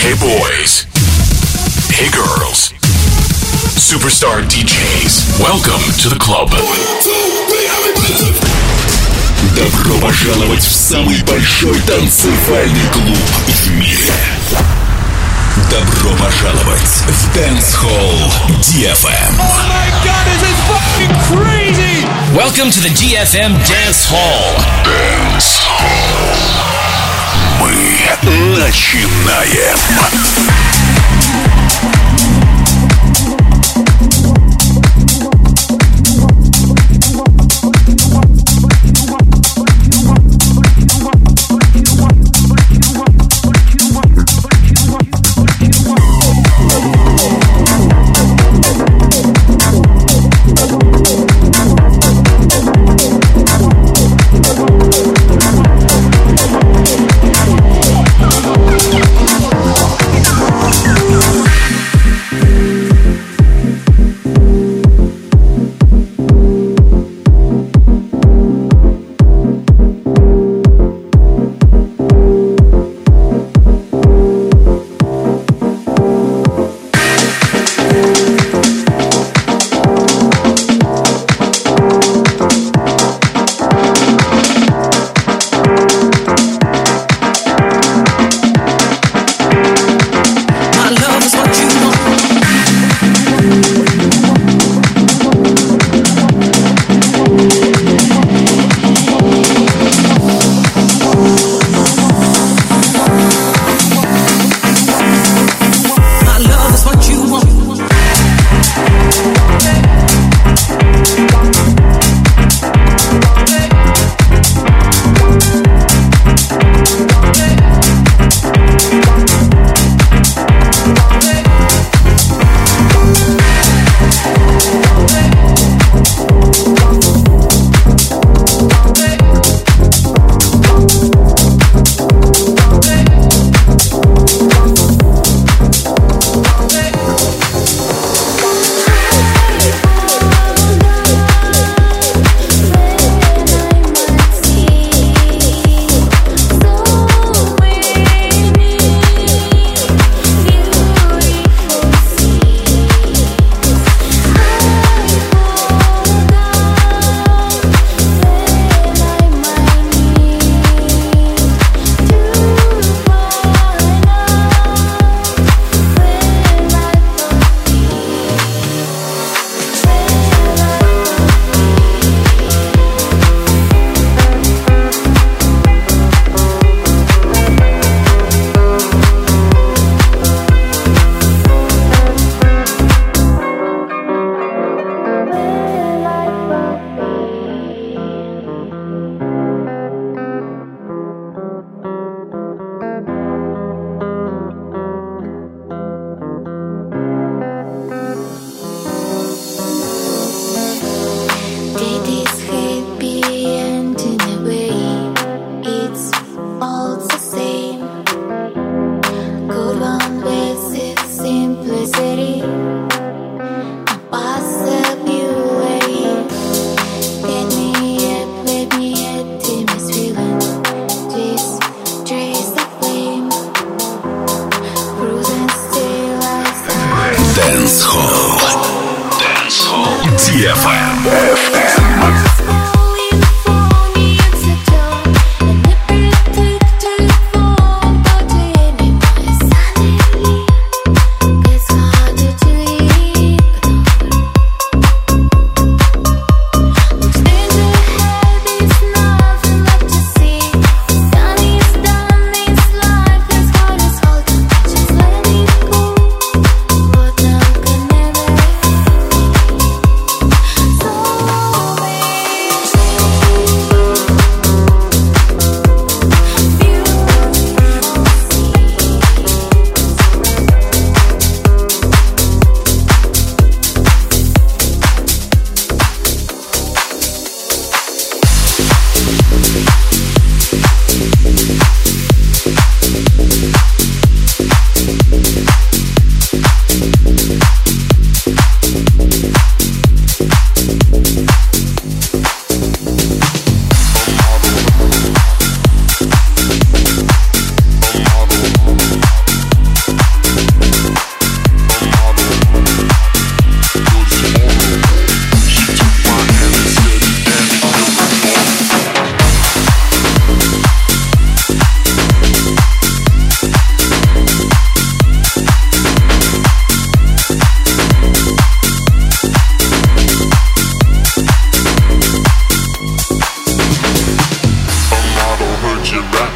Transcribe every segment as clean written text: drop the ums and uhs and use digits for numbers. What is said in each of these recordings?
Hey boys. Hey girls. Superstar DJs. Welcome to the club. Добро пожаловать в самый большой танцевальный клуб в мире. Добро пожаловать в Dance Hall DFM. Oh my god, this is fucking crazy! Welcome to the DFM Dance Hall. Dance Hall. Мы начинаем.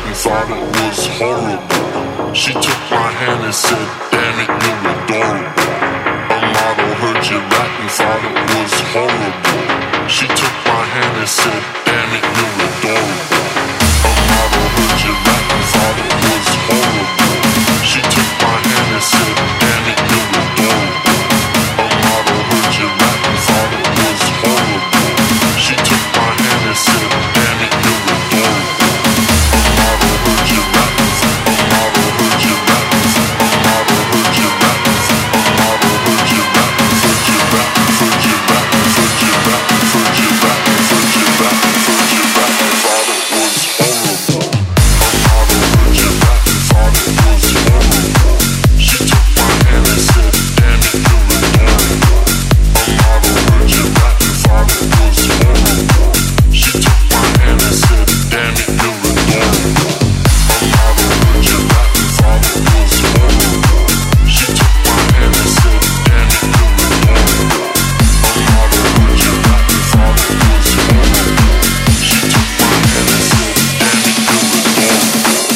and thought it was horrible. She took my hand and said, damn it, you're adorable. A model heard you rap and thought it was horrible. She took my hand and said, damn it, you're adorable. A model heard you rap and thought it was horrible. She took my hand and said, damn it, you're adorable. A model heard you rap and thought it was horrible. She took my hand and said, damn it, you're adorable. A model heard you rap, a model heard you rap, a model heard you rap, a model heard you rap, heard you rap, heard you rap, heard you rap, heard you rap, heard you rap, heard you rap, and thought it was horrible. A model heard you rap and thought it was horrible. She took my hand and said, damn it, you're adorable. A model heard you rap and thought it was horrible. She took my hand and said, damn it, you're adorable. A model heard you rap and thought it was horrible. She took my hand and said, damn it, you're adorable. A model heard you rap and thought it was horrible. She took my hand and said, damn it, you're adorable.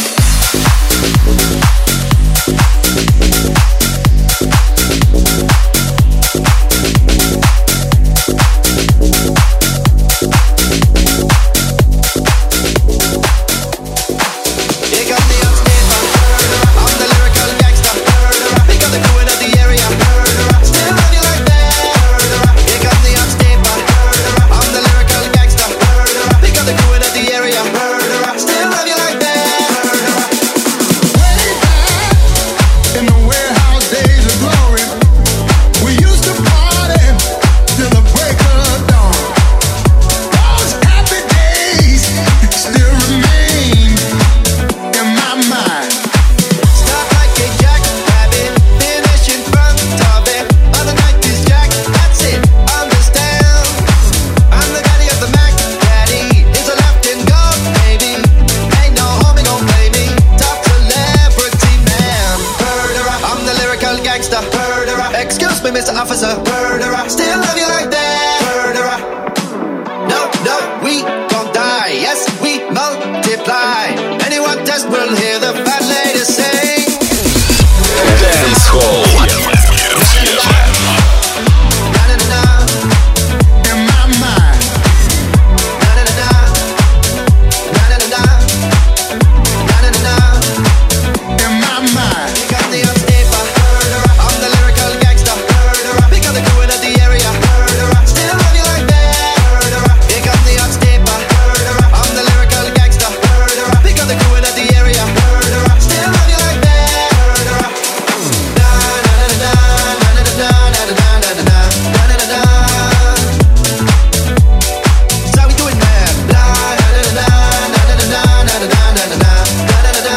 You got me on stage, I'm the lyrical gangster. You got the crew in the area, still love you like that. You got me on stage, I'm the lyrical gangster. You got the crew in the area, still love you like that. Way back in the warehouse days of glory, we used to party till the break of dawn. Those happy days still remain in my mind. Stop like a jackrabbit, finish in front of it. Other night is Jack, that's it, understand. I'm the daddy of the Mac, daddy is a left and go, baby. Ain't no homie gon' play me, top celebrity man. Murderer, I'm the lyrical gangster. Murderer, excuse me, Mr. Officer. Murderer, still love you like that. Murderer, no, no, we gon' die. Yes, we multiply. Anyone test will hear the fat lady sing. Dance Hall. Na-na-na-na, In my mind, na-na-na-na, na-na-na-na, na-na-na-na. in my mind. You got the unstable, I'm the lyrical gangster. Pick up the crew in the area, still love you like that. You got the unstable, I'm the lyrical gangster. Pick up the crew in the area, still love you like that. Na na na na na na na na na na na na na. That's how we do it, man. Na na na na na na na na na na na na na.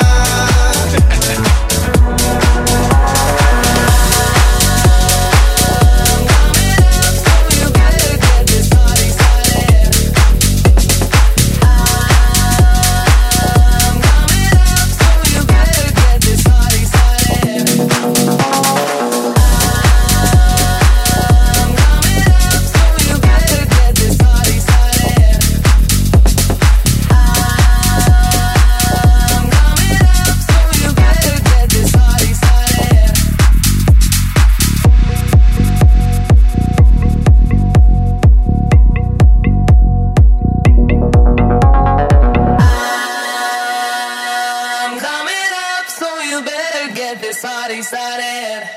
I'm coming up, so you better get this party started.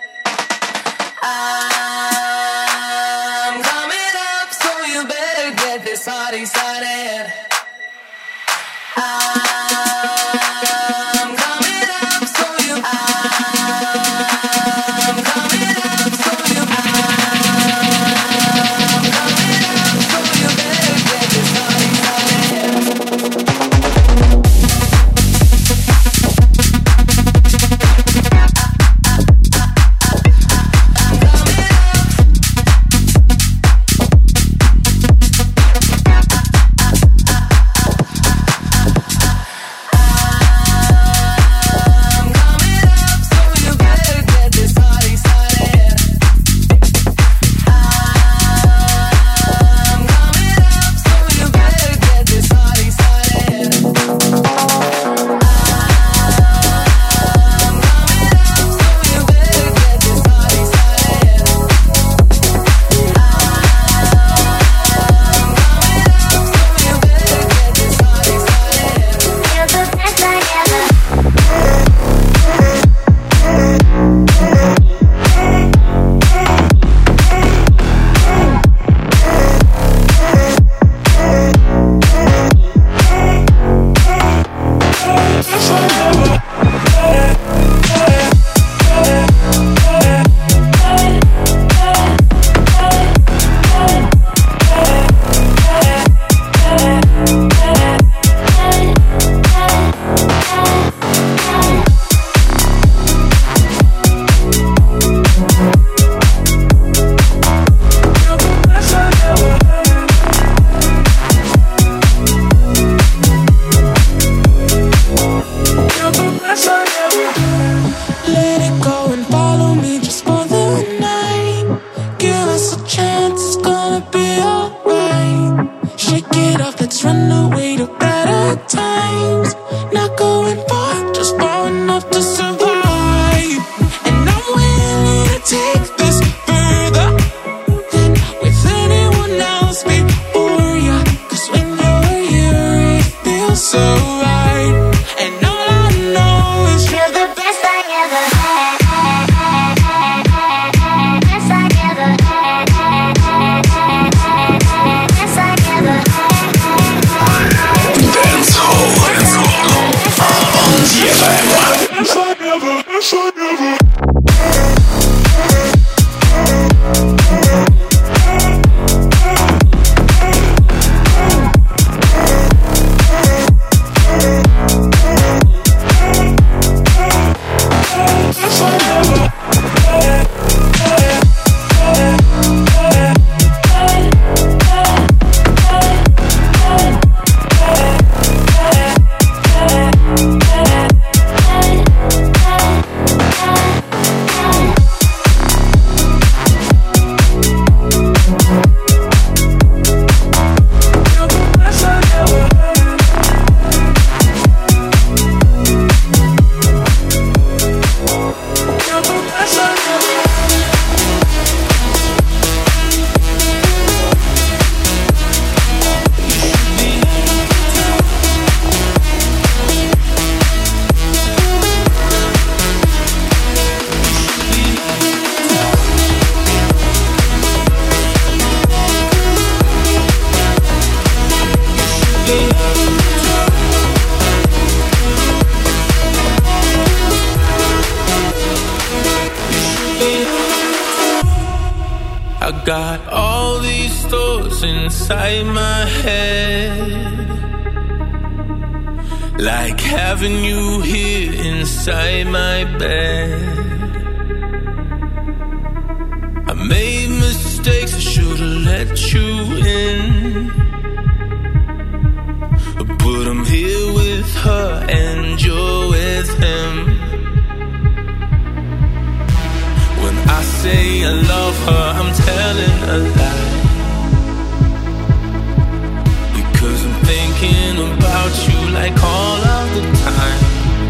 I'm coming up, so you better get this party started. I'm coming up, so you. I'm coming up, so you. I'm coming up, so you better get this party started. got all these thoughts inside my head, like having you here inside my bed. I made mistakes, I should've let you in, but I'm here with her and you're with him. When I say I love her, I'm telling a lie, because I'm thinking about you like all of the time.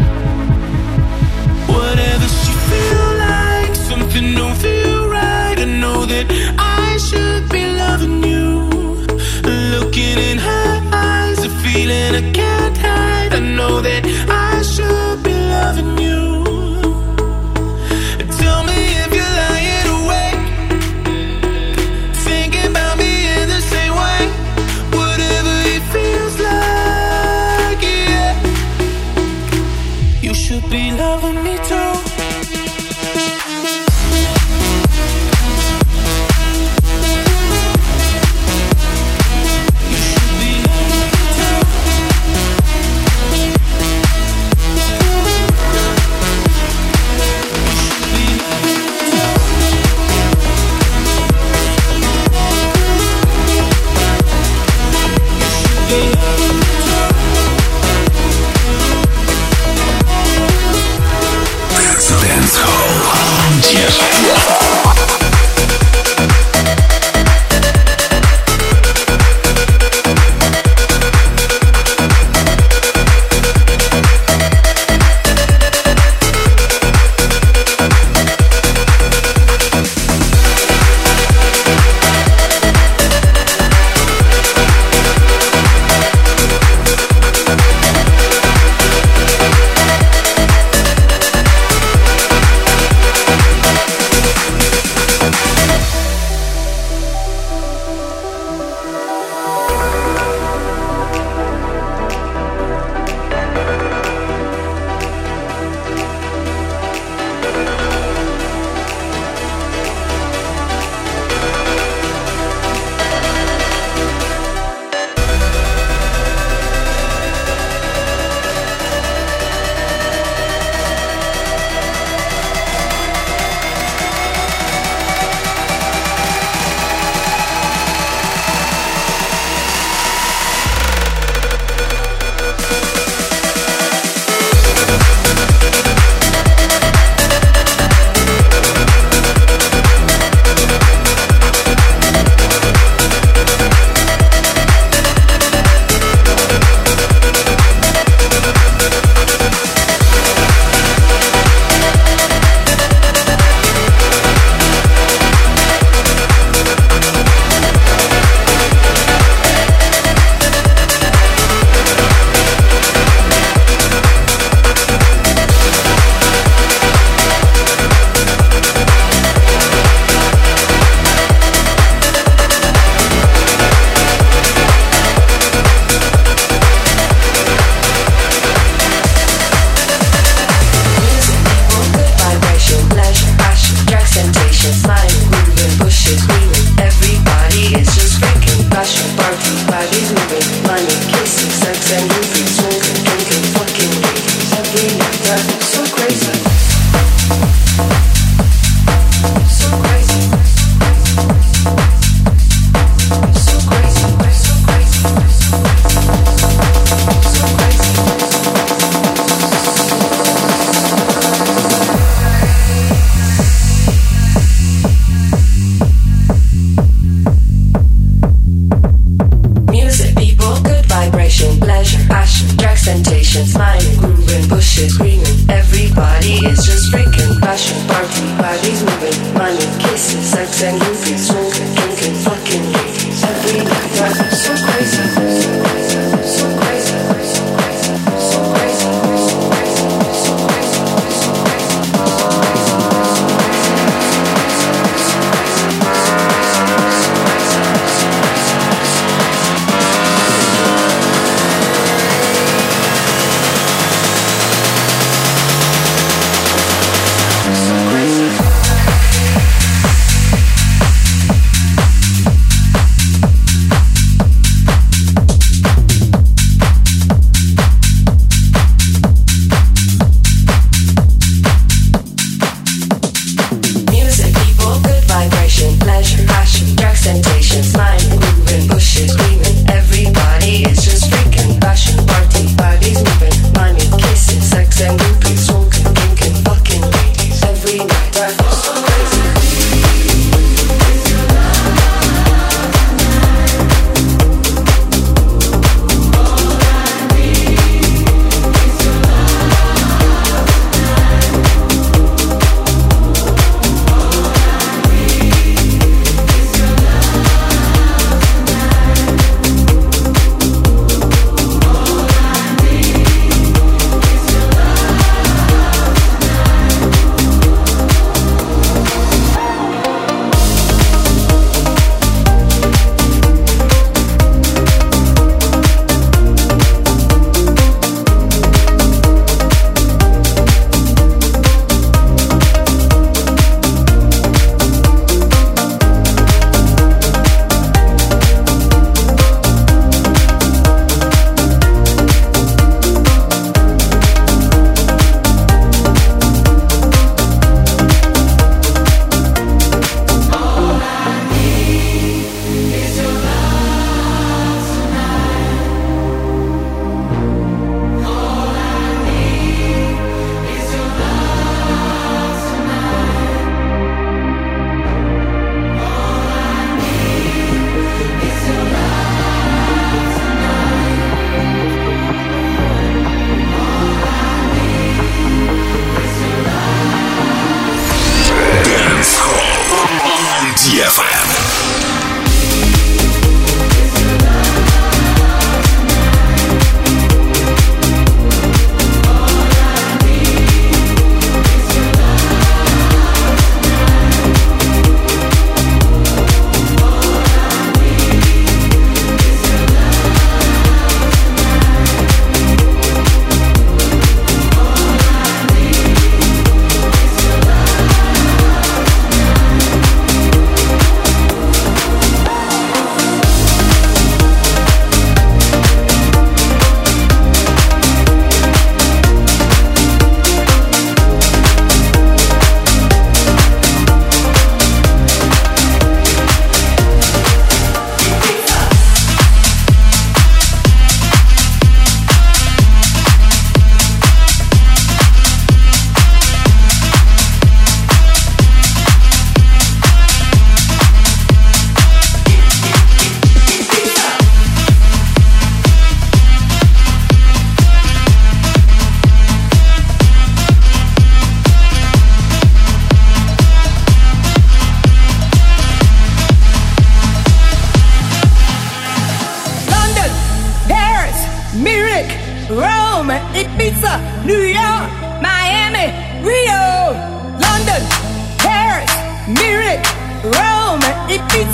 Whatever she feel like, something don't feel right. I know that I should be loving you, looking in her eyes, a feeling I can't hide. I know that I should be loving you. Tell me if you're lying awake, thinking about me in the same way. Whatever it feels like, yeah, you should be loving me too.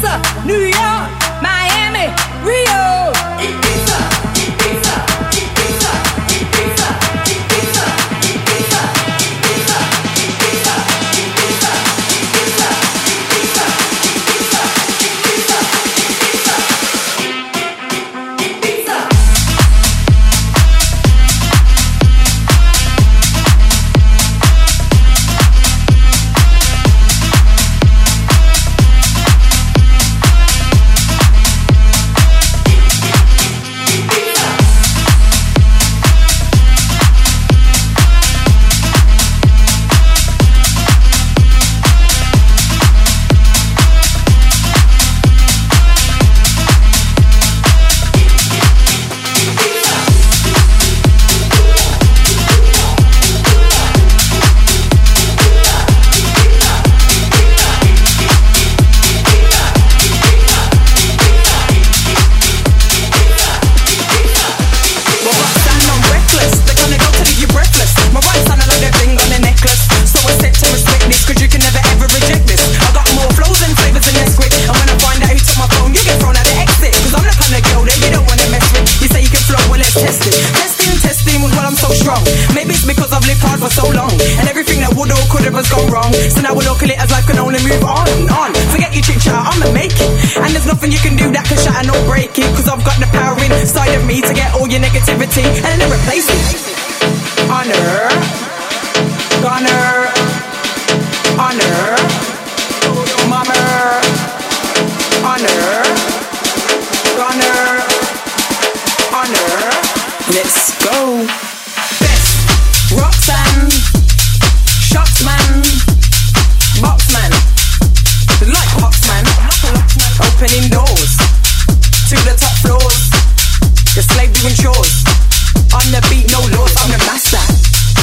Tulsa, New York, Miami, Rio. Ibiza, Ibiza, Ibiza, Ibiza, Ibiza, Ibiza, Ibiza, Ibiza, Ibiza, Ibiza, Ibiza, Ibiza, Ibiza, Ibiza. So now we're looking at it as life can only move on. Forget your chit chat, I'ma make it. And there's nothing you can do that can shatter nor break it. Cause I've got the power inside of me to get all your negativity and then replace it. Honor, honor, honor, mama, honor, honor, honor. Let's go. Best Roxanne, Shotsman, Boxman, like Boxman, opening doors to the top floors. The slave doing chores on the beat, no laws. I'm the master.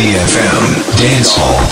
DFM Dance Hall.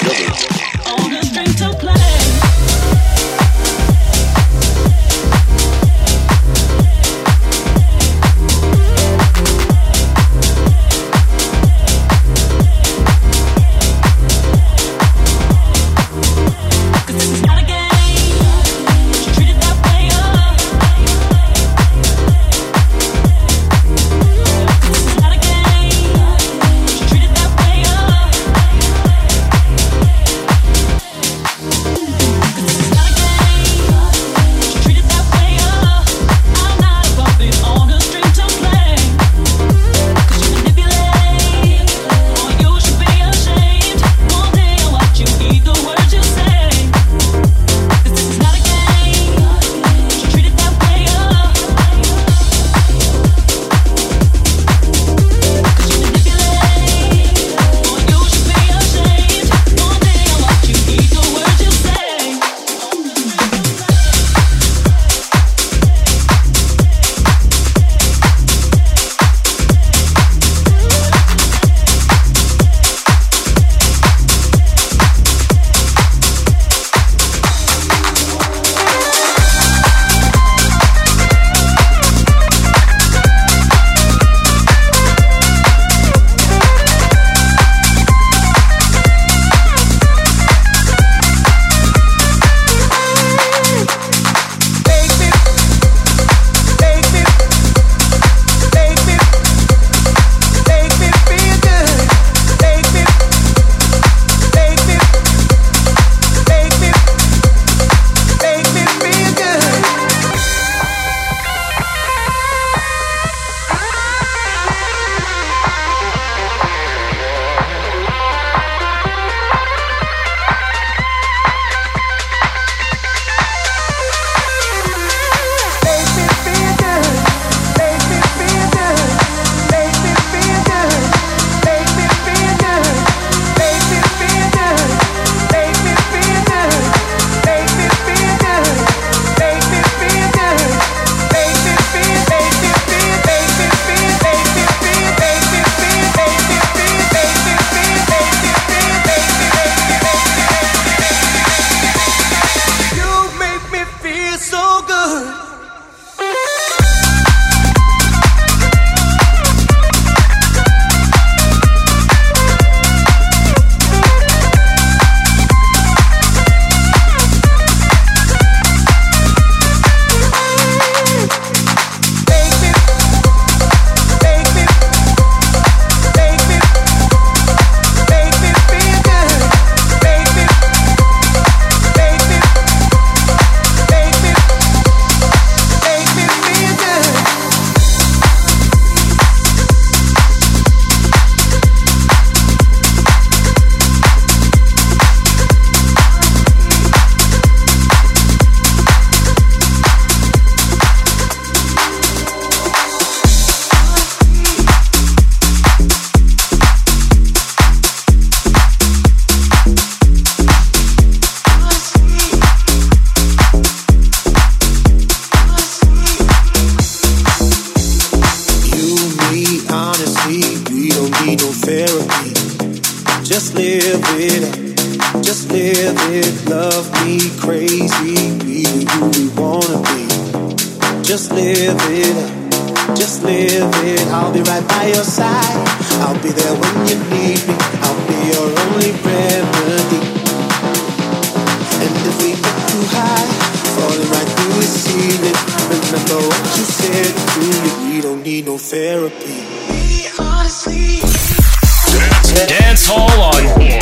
Dance Hall on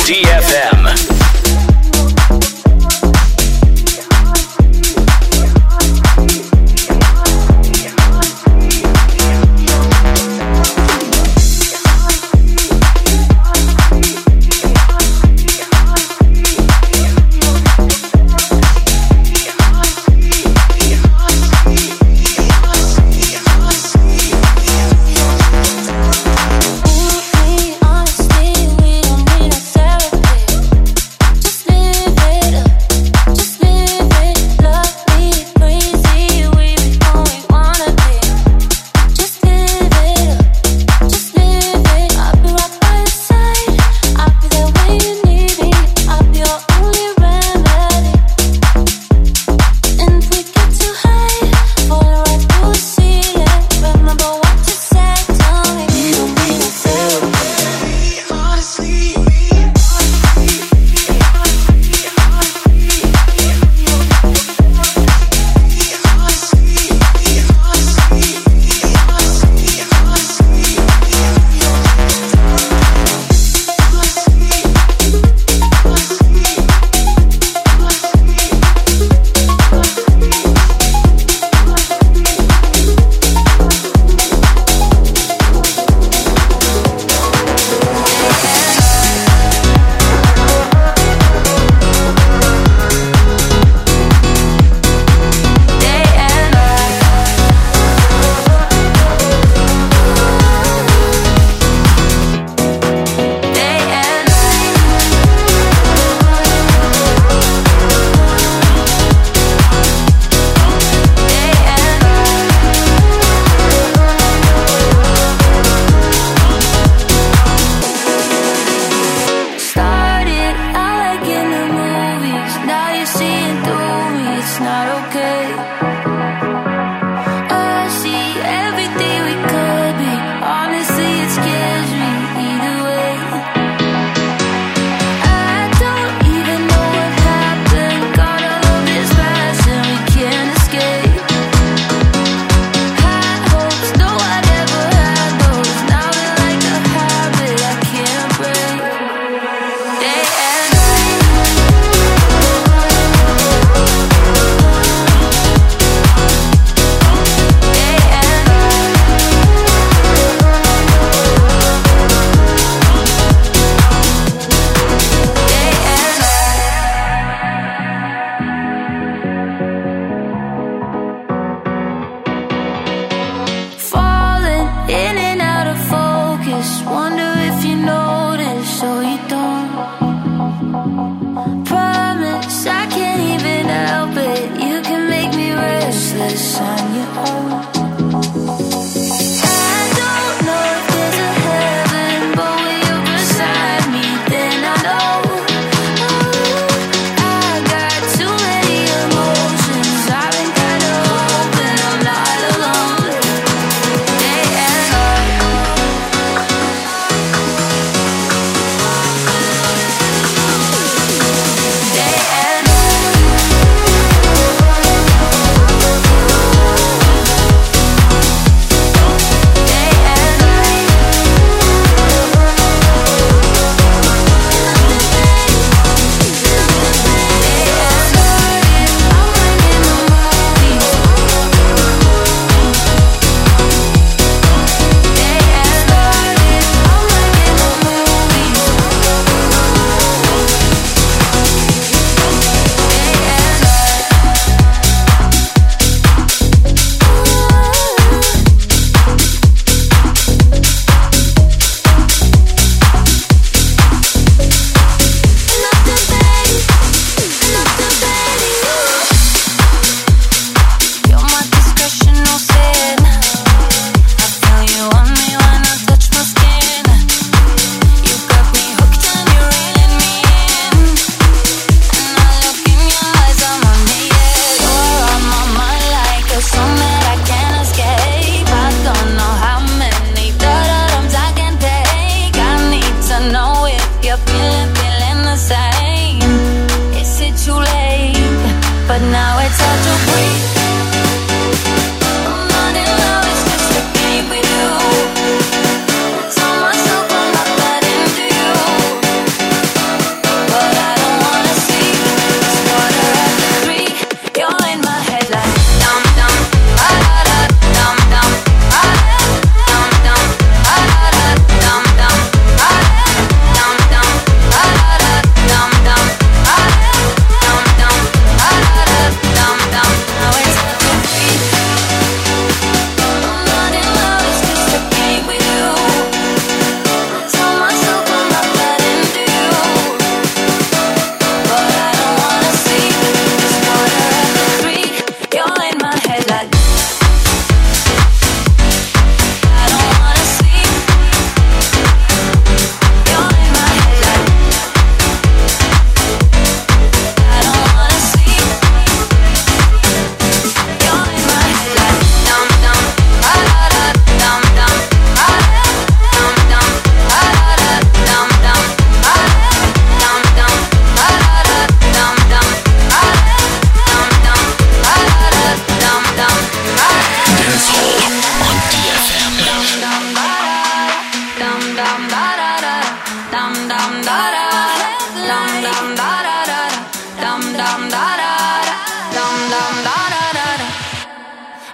DFM.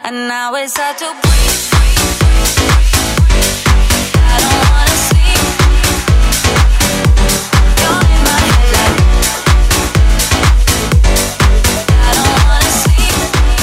and now it's hard to breathe. I don't wanna sleep. You're in my head like I don't wanna sleep.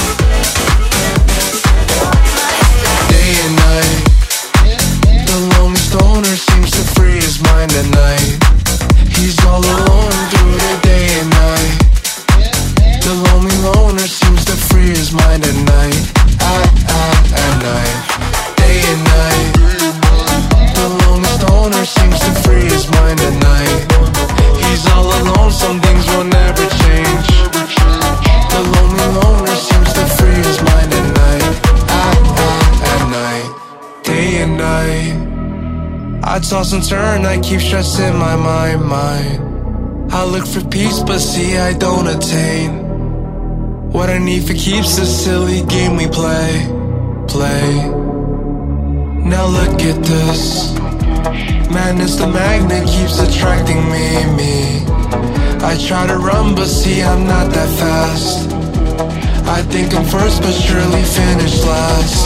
You're in my head like day and night. The lonely stoner seems to free his mind at night. He's all alone through the day and night. The lonely loner seems to free his mind at night. At night, day and night. The lonely stoner seems to free his mind at night. He's all alone, some things will never change. The lonely loner seems to free his mind at night. At night, day and night. I toss and turn, I keep stress in my mind. I look for peace, but see I don't attain. What I need for keeps the silly game we play. Now look at this. Madness, the magnet keeps attracting me. I try to run, but see I'm not that fast. I think I'm first, but surely finish last.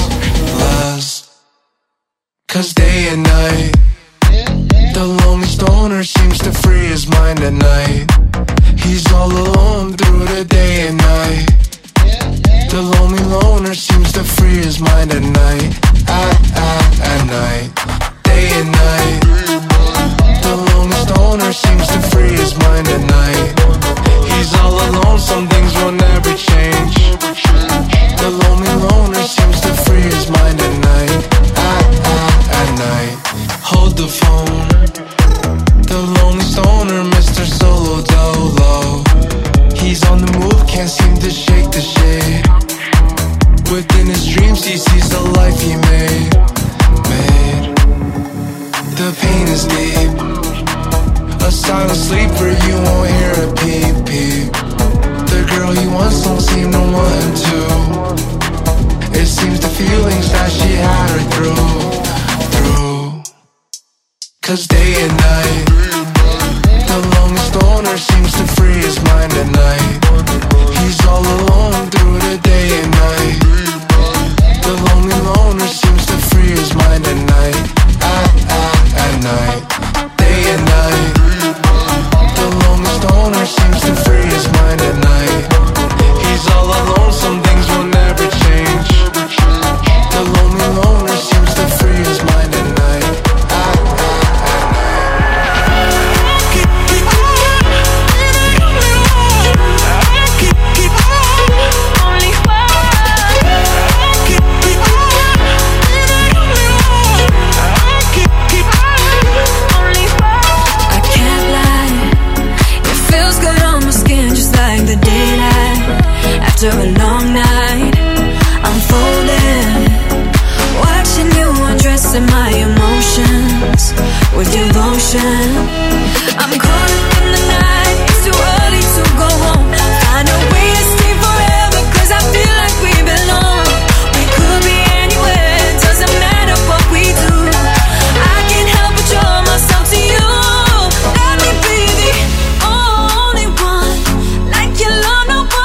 'Cause day and night, the lonely stoner seems to free his mind at night. He's all alone through the day and night. The lonely loner seems to free his mind at night. At night, day and night. The lonely stoner seems to free his mind at night. He's all alone, some things will never change. The lonely loner seems to free his mind at night. At night, hold the phone. The lonely stoner, Mr. Solo Dolo. He's on the move, can't seem to shake the shade. Within his dreams he sees the life he made. The pain is deep. A silent sleeper, you won't hear a peep peep. The girl he wants don't seem to want him to. It seems the feelings that she had her through. 'Cause day and night, the lonely stoner seems to free his mind at night. He's all alone through the day and night. The lonely loner seems to free his mind at night. At night, day and night. The lonely stoner seems to free his mind at night. He's all alone, some things will never change. The lonely loner seems to free his mind at night. After a long night, I'm folding, watching you undressing my emotions with devotion. I'm caught up in the night, it's too early to go home. Find a way to stay forever, 'cause I feel like we belong. We could be anywhere, it doesn't matter what we do. I can't help but draw myself to you. Let me be the only one, like you love no one.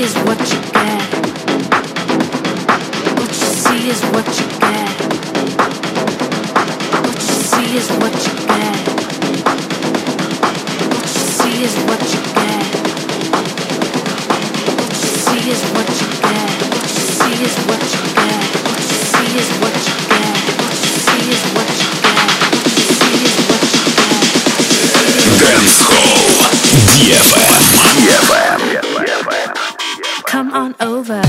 is what you get. What you see is what you get. What you see is what you get. What you see is what you get. What you see is what you get. What you see is what you get. What you see is what you get. What you see is what you get. What you see is what you get. Dance Hall DFM. Come on over.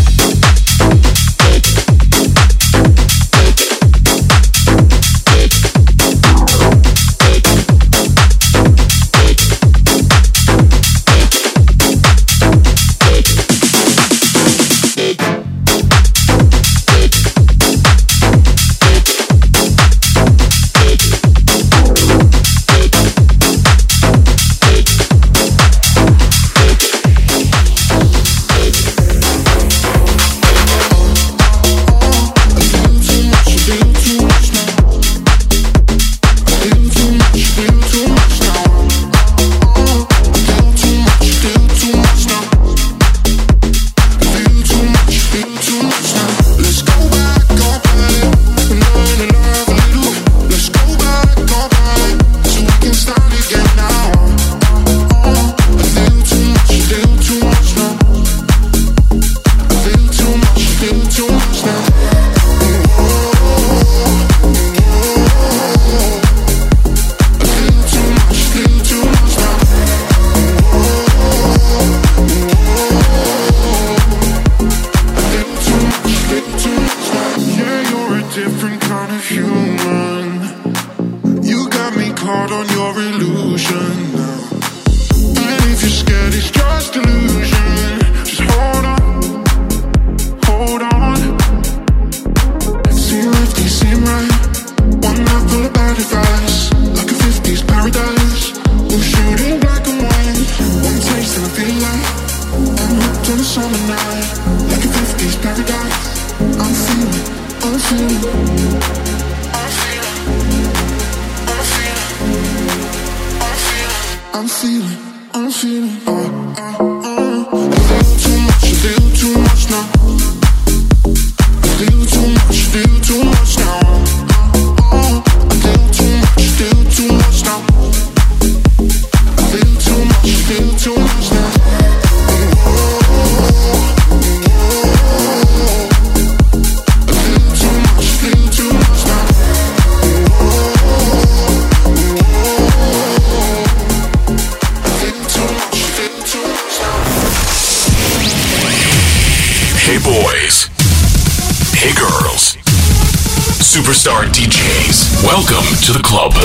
Superstar DJs. Welcome to the club.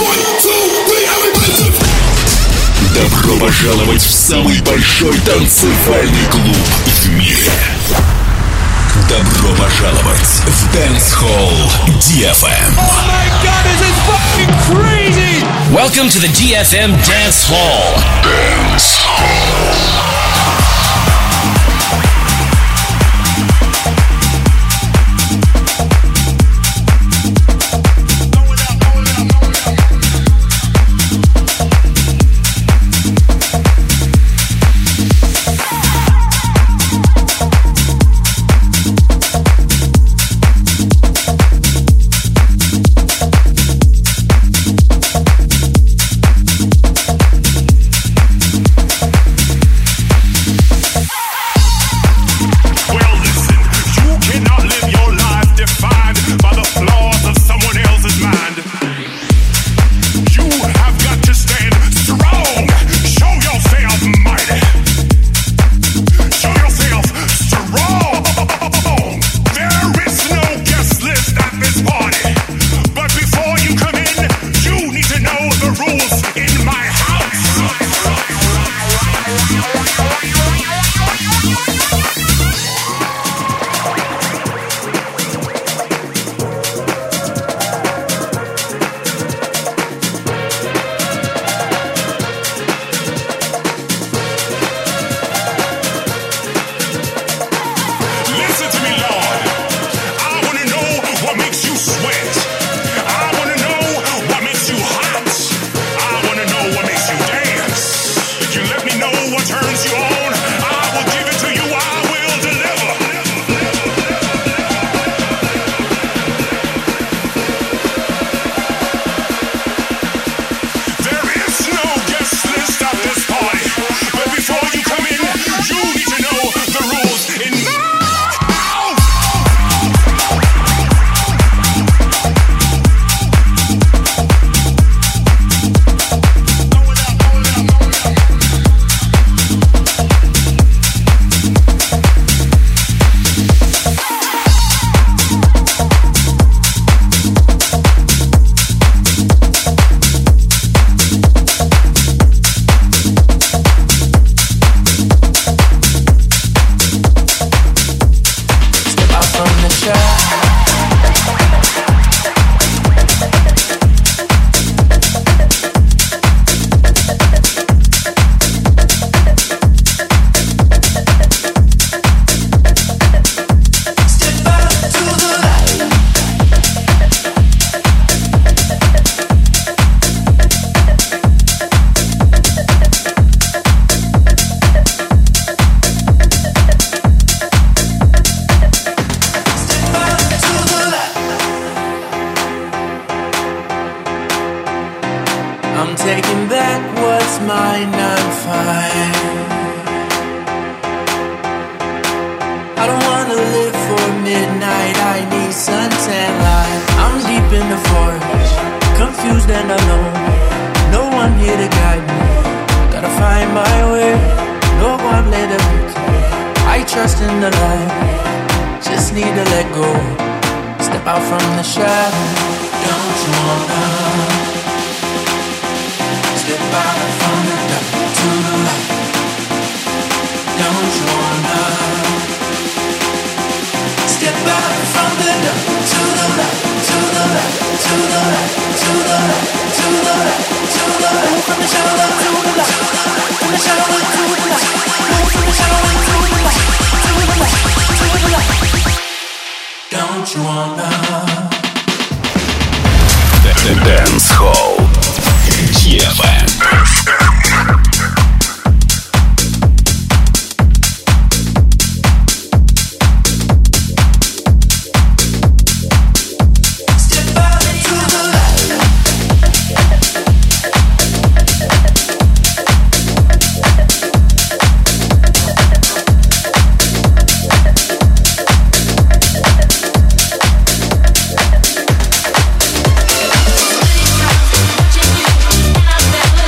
Добро пожаловать в самый большой танцевальный клуб в мире. Добро пожаловать в Dance Hall DFM. Oh my god, this is fucking crazy! Welcome to the DFM Dance Hall. Dance Hall. Dance Hall DFM. Never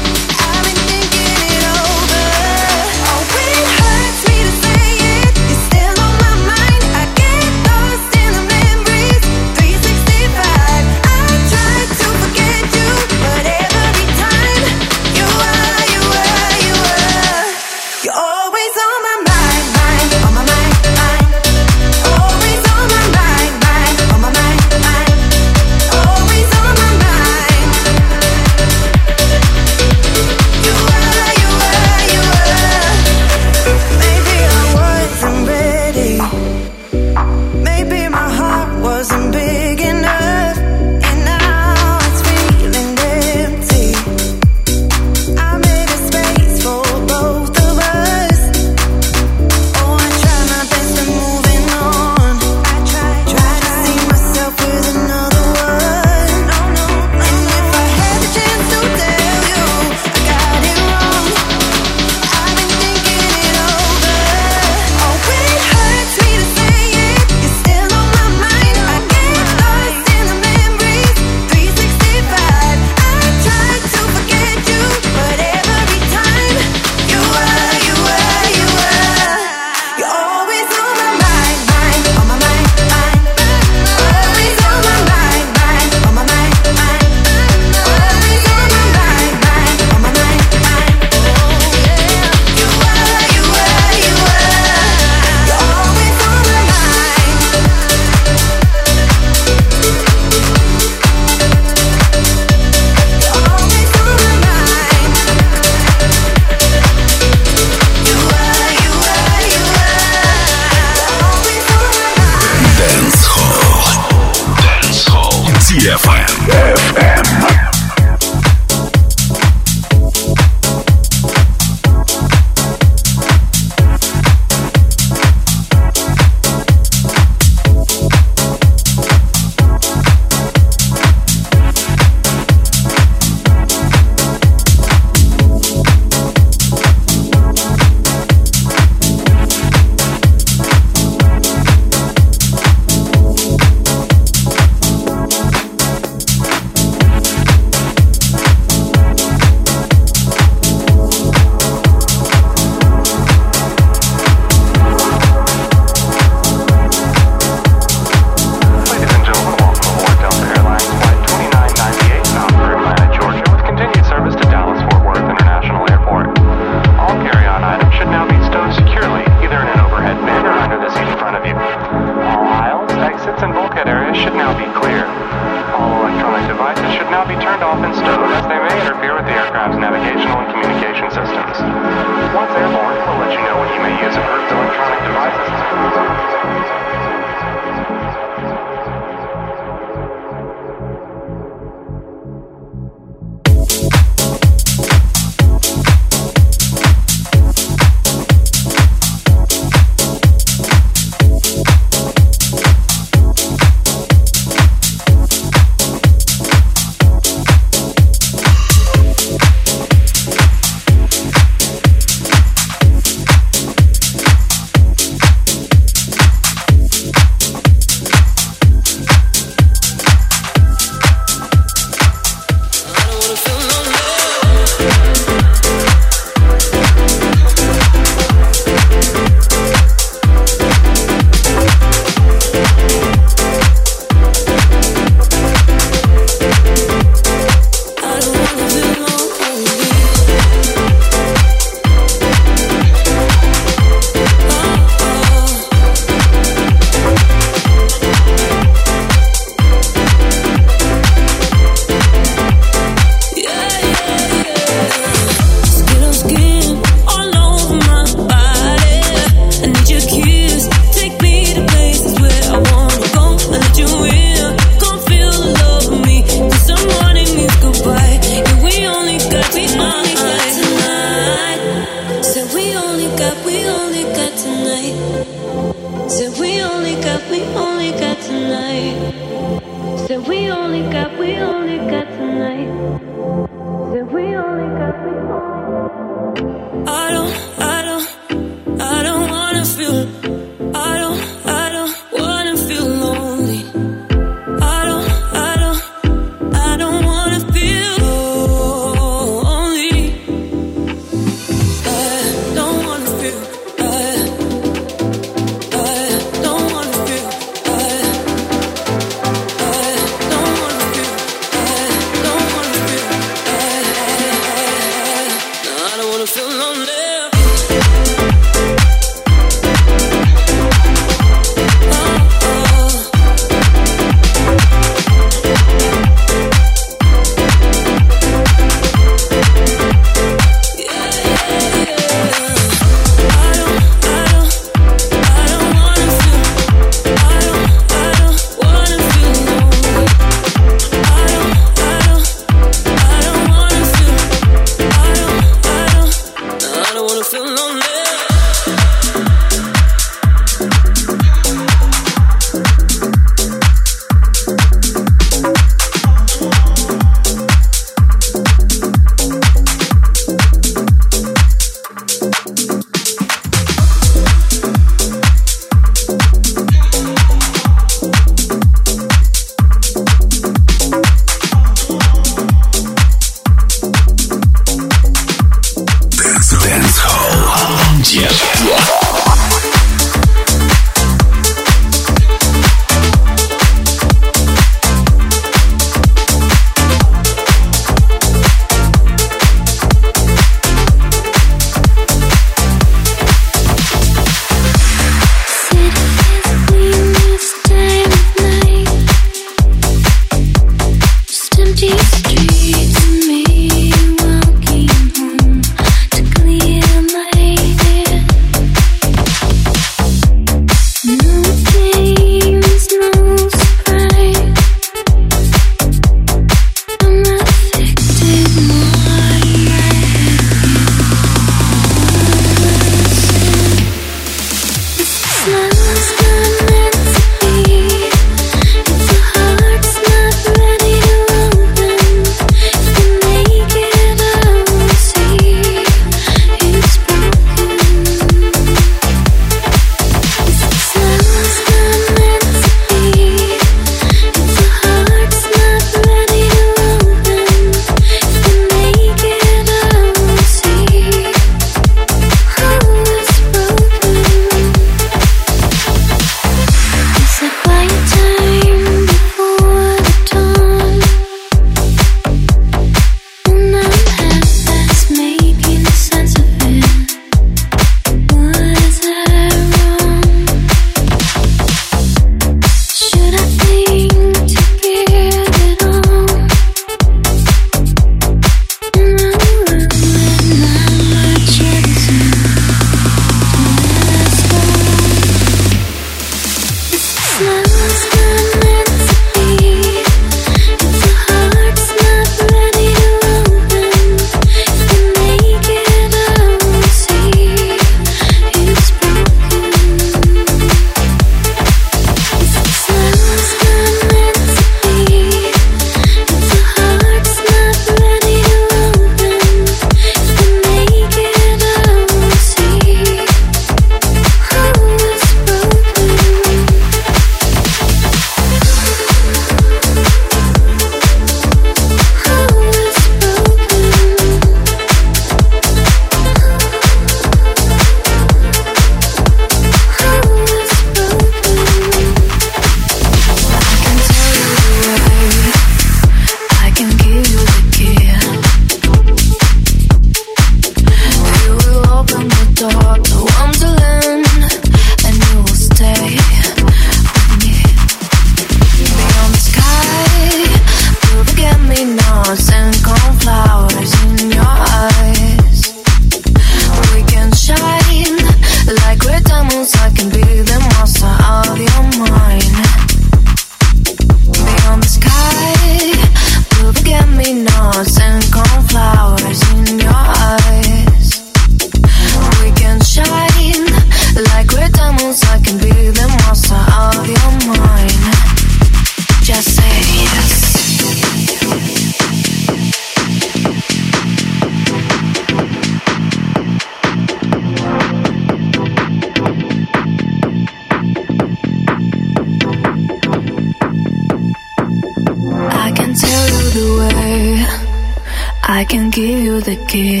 can give you the key.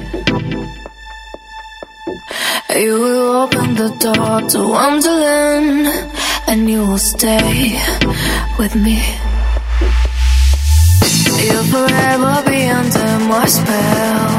You will open the door to Wonderland, and you will stay with me. You'll forever be under my spell.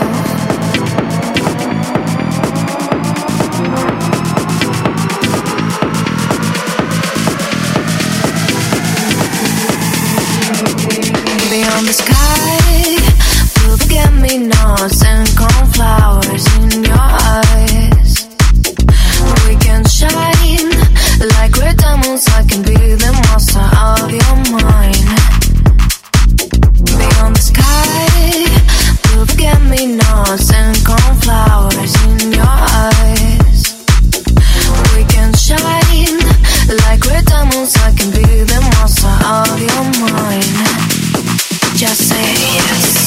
Beyond the sky, blue forget-me-nots and cornflowers in your eyes. We can shine like red diamonds. I can be the monster of your mind. Beyond the sky, blue forget-me-nots and cornflowers in your eyes. We can shine like red diamonds. I can be the monster of your mind. Just say yes.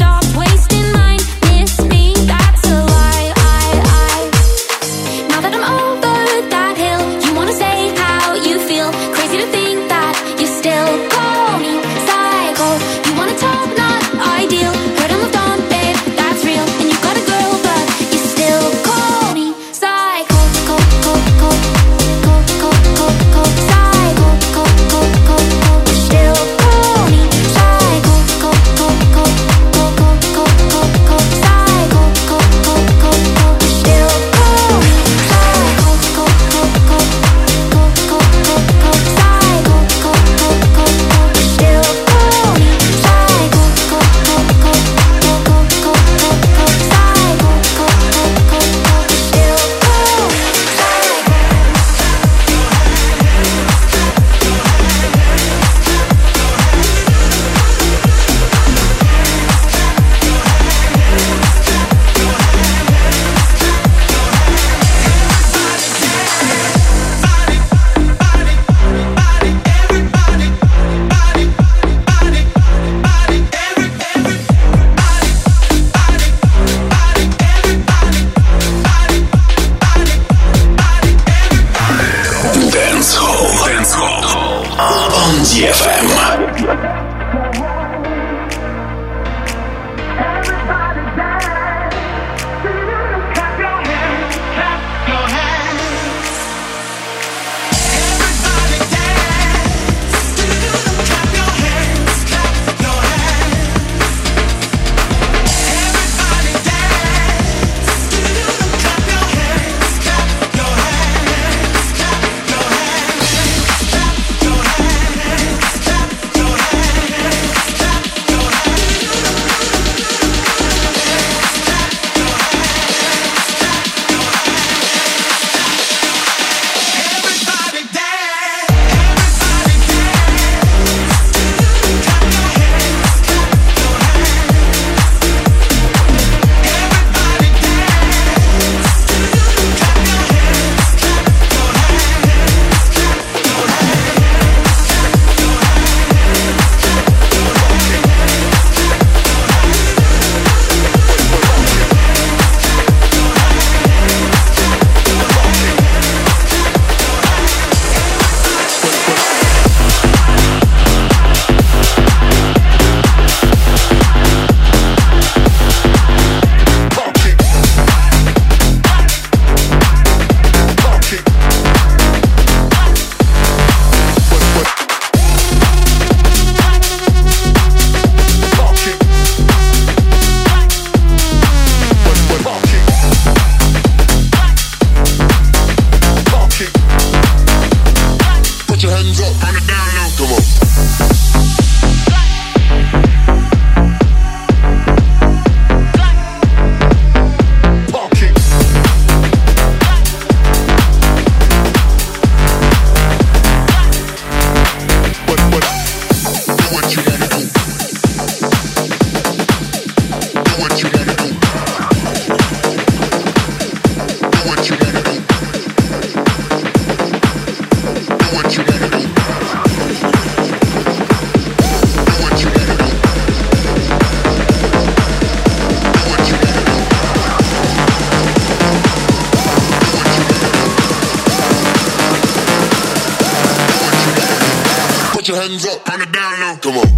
Now that I'm hands up, on the down low. Come on.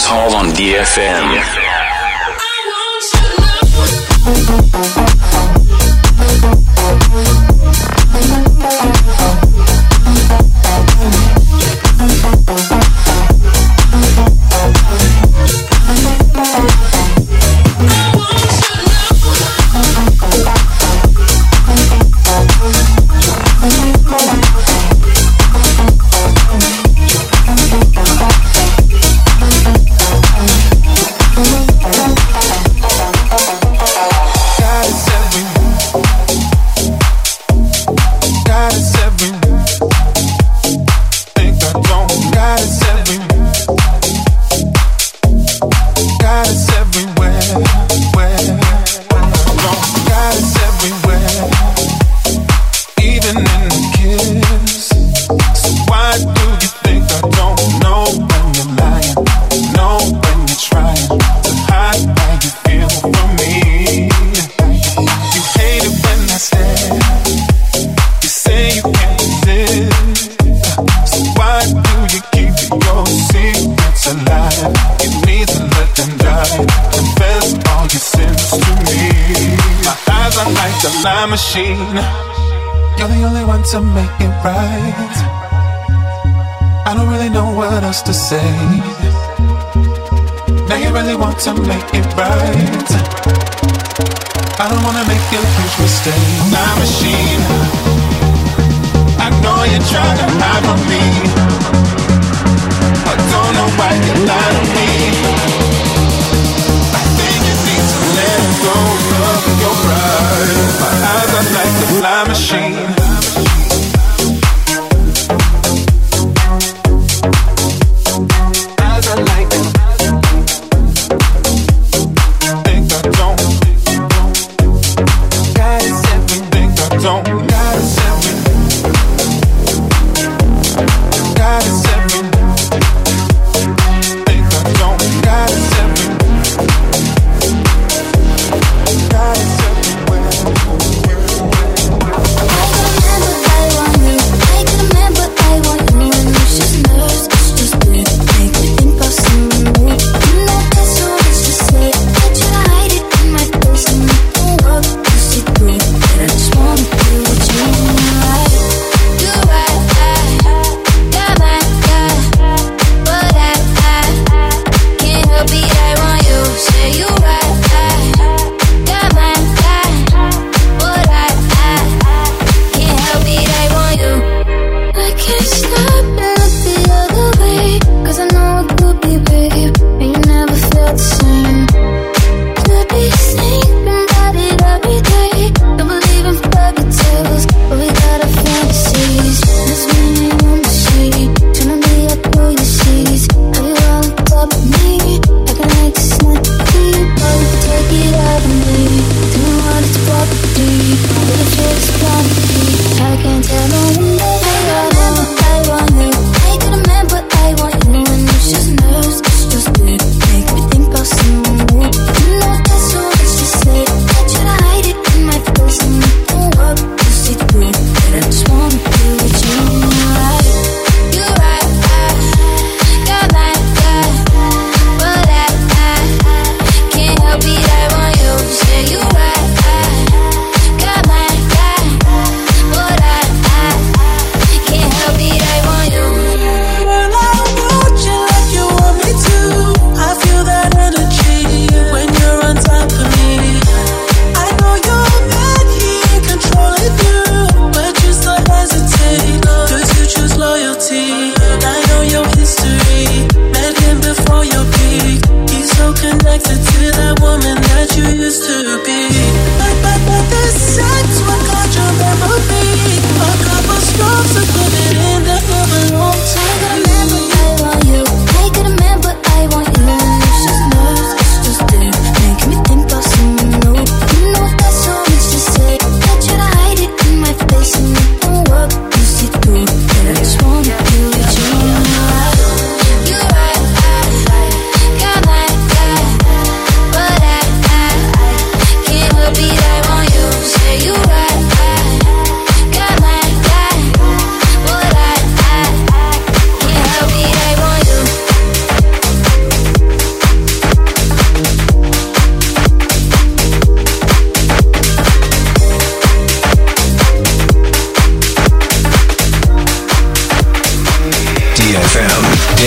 Hall on DFM. Machine, you're the only one to make it right. I don't really know what else to say. Now you really want to make it right. I don't wanna make a huge mistake. My machine, I know you're trying to hide from me. I don't know why you lie to me. I think you need to let go of your pride. My eyes are like the fly machine. Eyes are like it. Think I don't. God is everything I don't. God is everything. God is everything. Think I don't. God is everything. God is everywhere. What you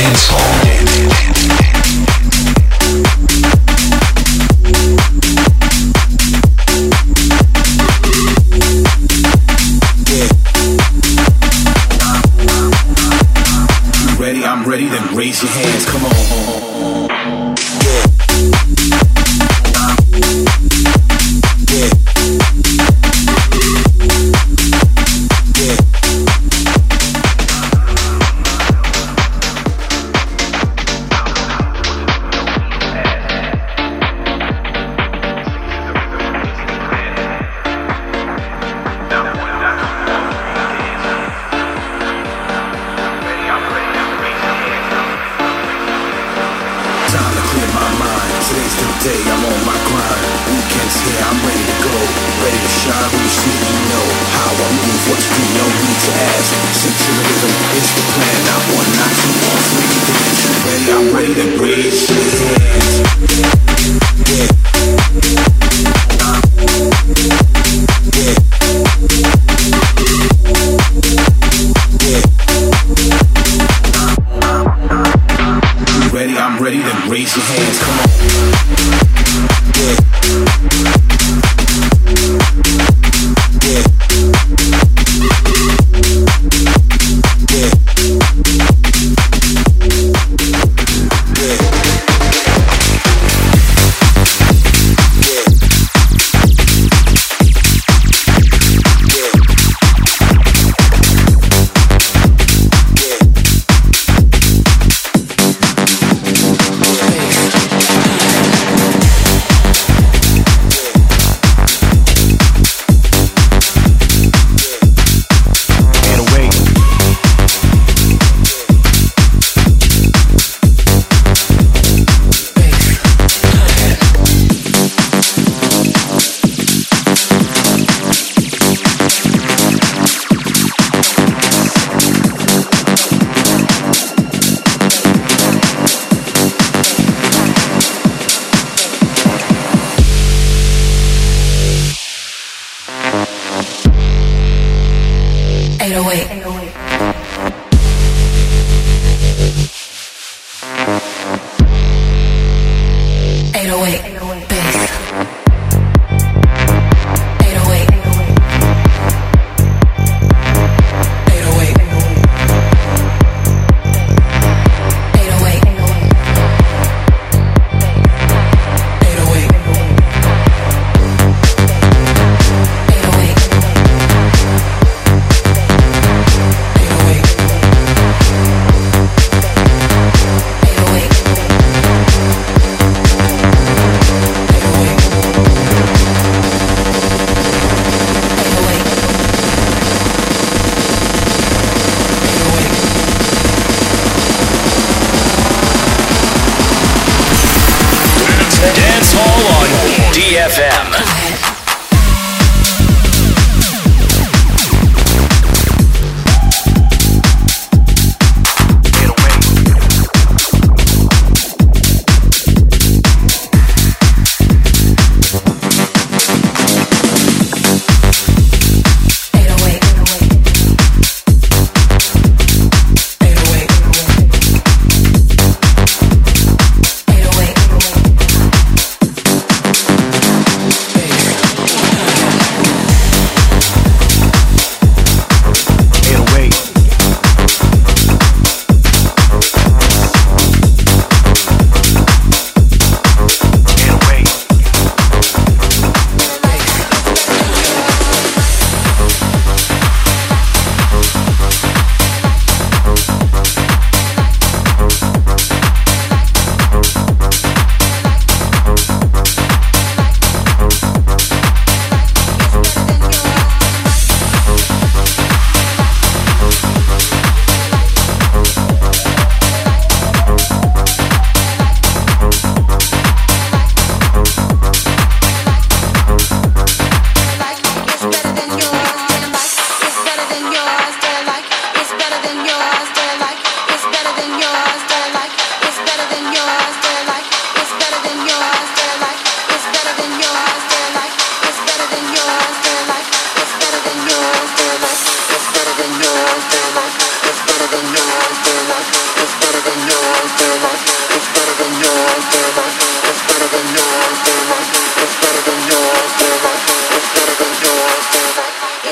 Dance Hall. I'm ready, then raise your hands, come on.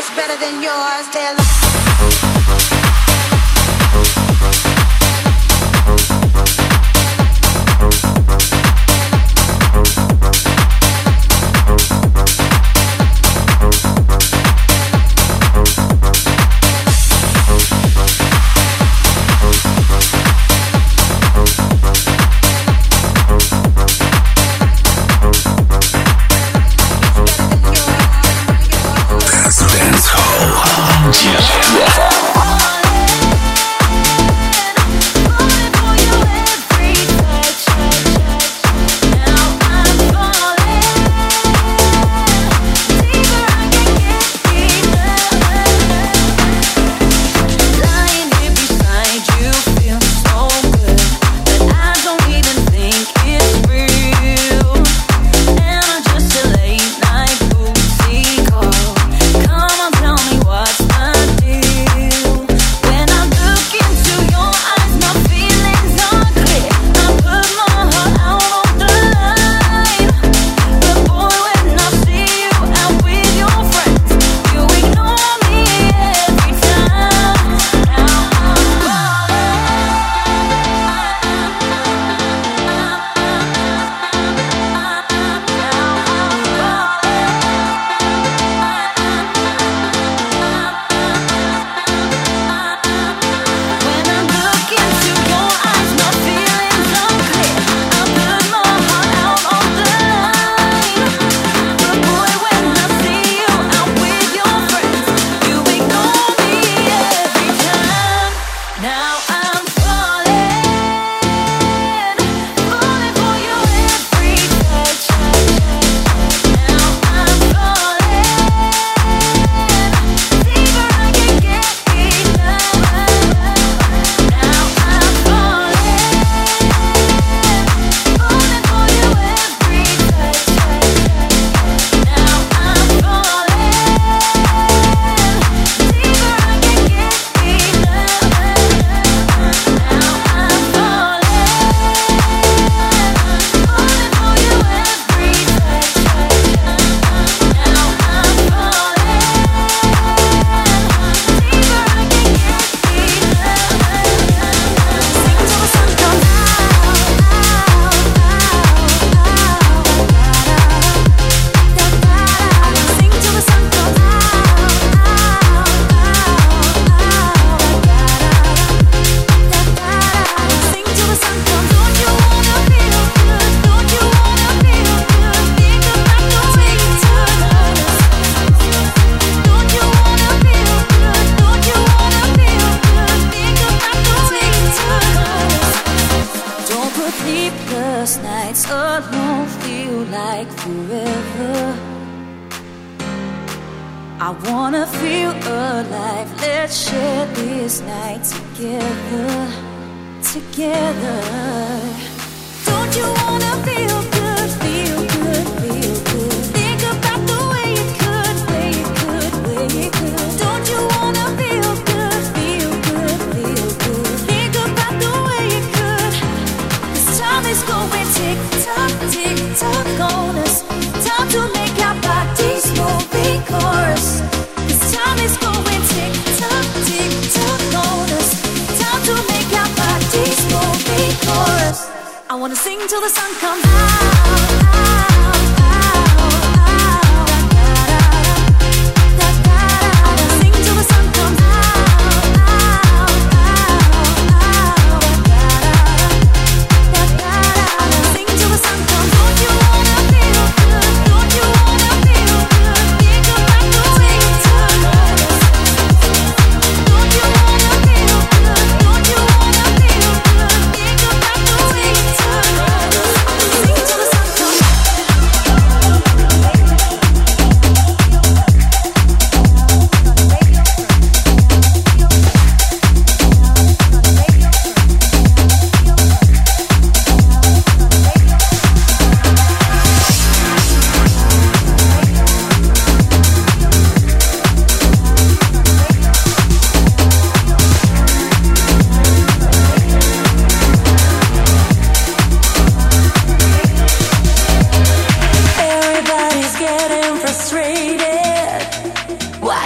much better than yours. They're like I wanna feel alive. Let's share this night together, together. Don't you wanna feel good, feel good, feel good? Think about the way it could, way it could, way it could. Don't you wanna feel good, feel good, feel good? Think about the way it could. 'Cause time is going tick tock on us. Time to make our bodies move, chorus. 'Cause time is going tick tock on us. Time to make our bodies move, chorus. I wanna sing till the sun comes out. Sing till the sun comes out. Sing till the sun comes. Don't you wanna feel good? Don't you wanna feel good? Think about the way it took us. Don't you wanna feel good? Don't you wanna feel good? Think about the way it took us. Sing till the sun comes.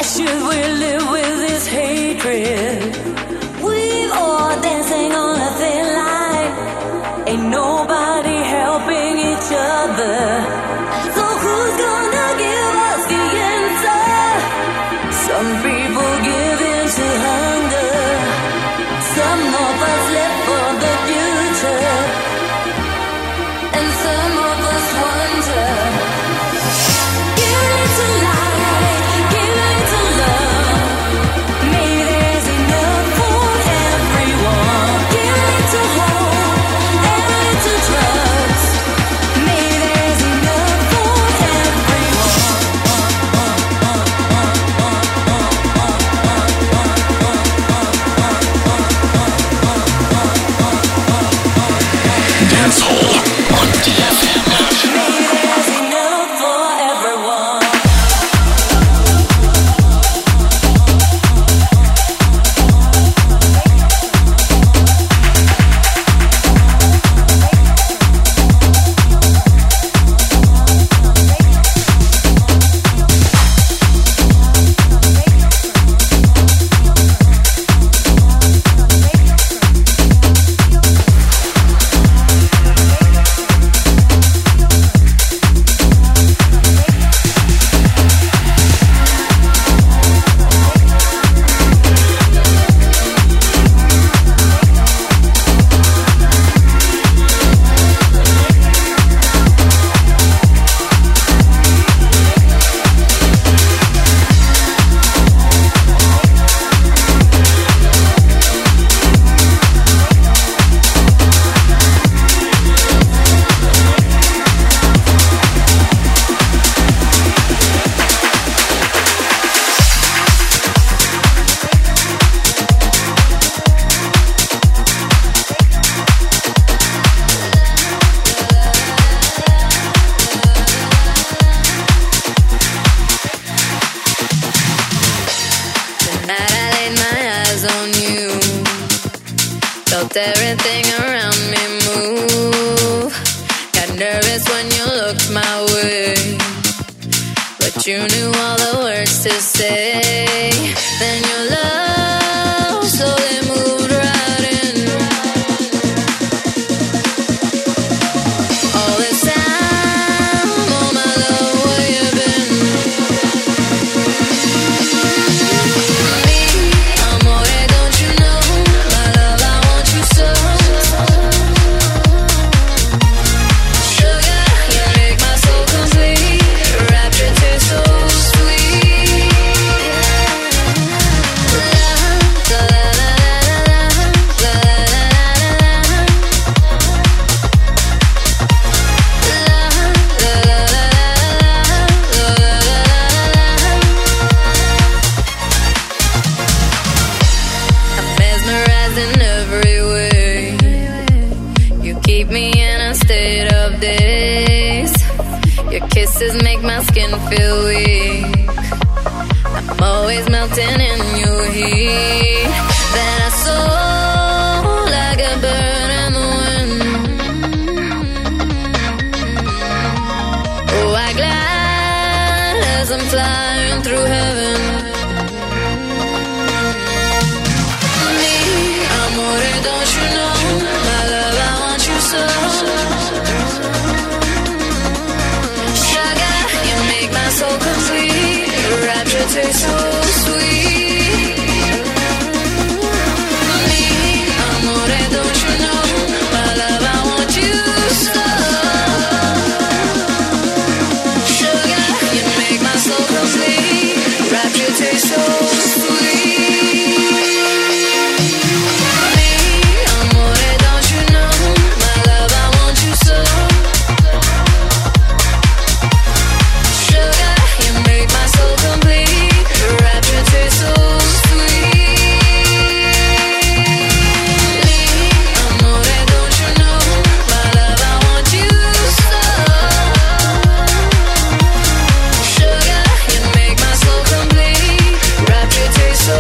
Why should we live with this hatred? We all dancing on a thin line. Ain't nobody helping each other. So who's gonna give us the answer? Some people give in to hunger. Some of us live for the future. And some of us wonder. Give it to light, give it to love. Maybe there's enough for everyone. Give it to hope, and to trust. Maybe there's enough for everyone. Dance Hall on DFM. Maybe there's enough for everyone. Tonight I laid my eyes on you. Felt everything around me move. Got nervous when you looked my way, but you knew all the words to say. Then your love slowly moved right in. All this time, oh my love, where you been? Amore, don't you know, my love, I want you so. Sugar, you make my soul complete. Rapture tastes so sweet. La, la, la, la, la, I'm mesmerized in every way. You keep me in a state of daze. Your kisses make my skin feel weak. I'm always melting in your heat. Then I soar like a bird in the wind. Oh, I glide as I'm flying through heaven. Me, amore, don't you know, my love, I want you so. Sugar, you make my soul complete. Rapture tastes so sweet. Me, amore, don't you know, my love, I want you so. Sugar, you make my soul complete. Rapture tastes so sweet. Me, amore, don't you know, my love, I want you so. Sugar, you make my soul complete. Rapture tastes so sweet. Me, amore, don't you know, my love, I want you so. Sugar, you make my soul complete. Rapture tastes so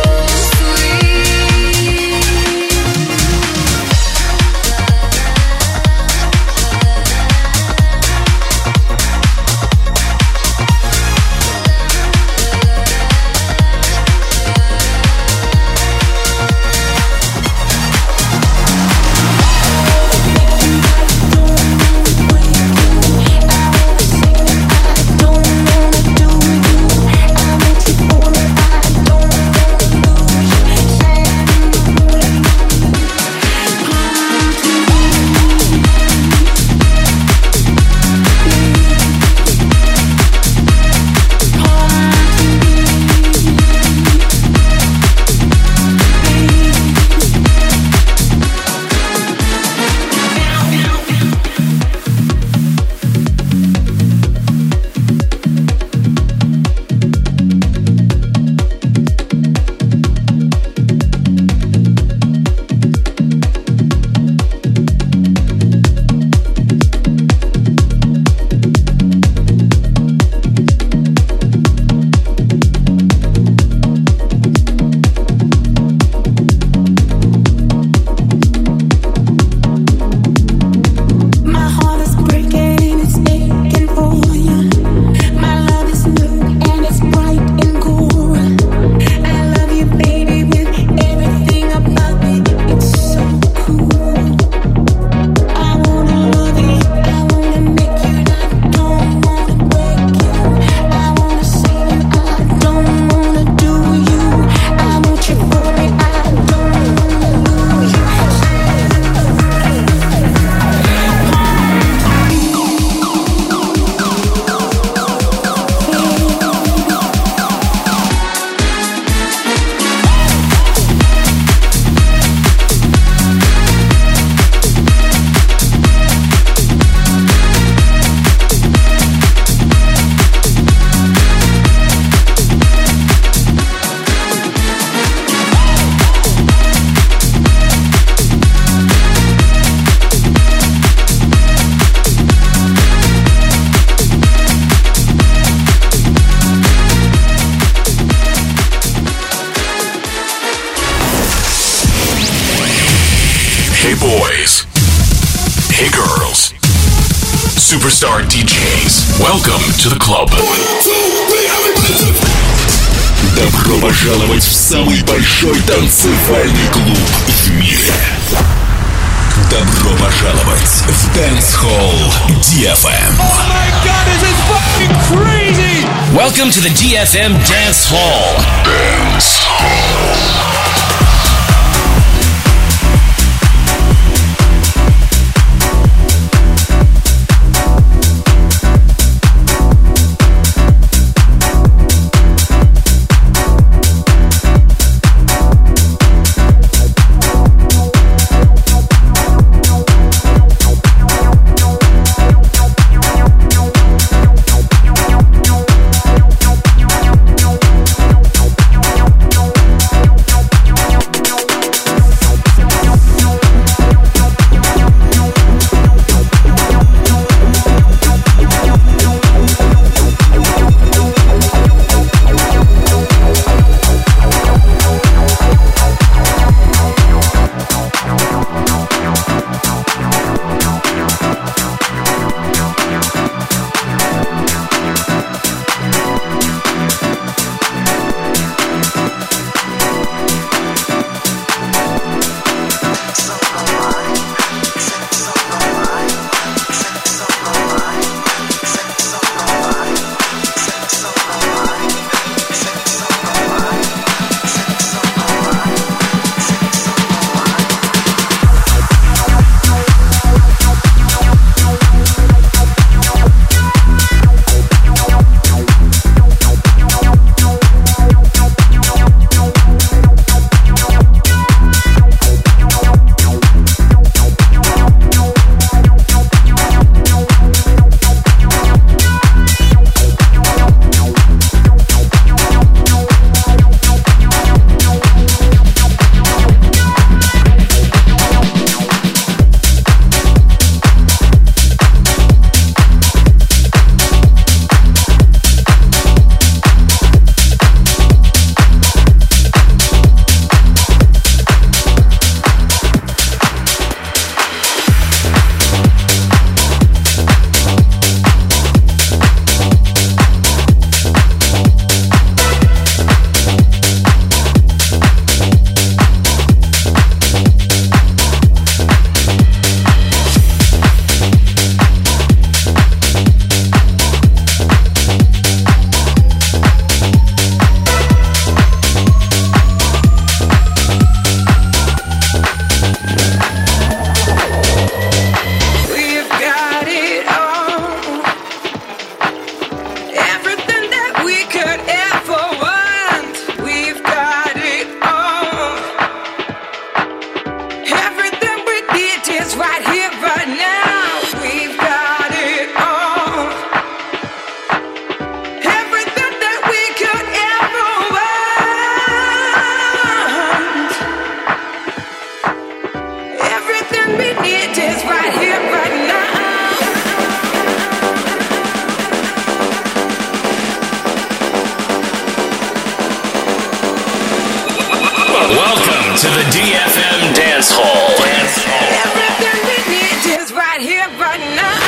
Hey boys. Hey girls. Superstar DJs. Welcome to the club. Добро пожаловать в самый большой танцевальный клуб в мире. Добро пожаловать в Dance Hall DFM. Oh my god, this is fucking crazy! Welcome to the DFM Dance Hall. Dance Hall. Welcome to the DFM Dance Hall. Everything we need is right here, right now.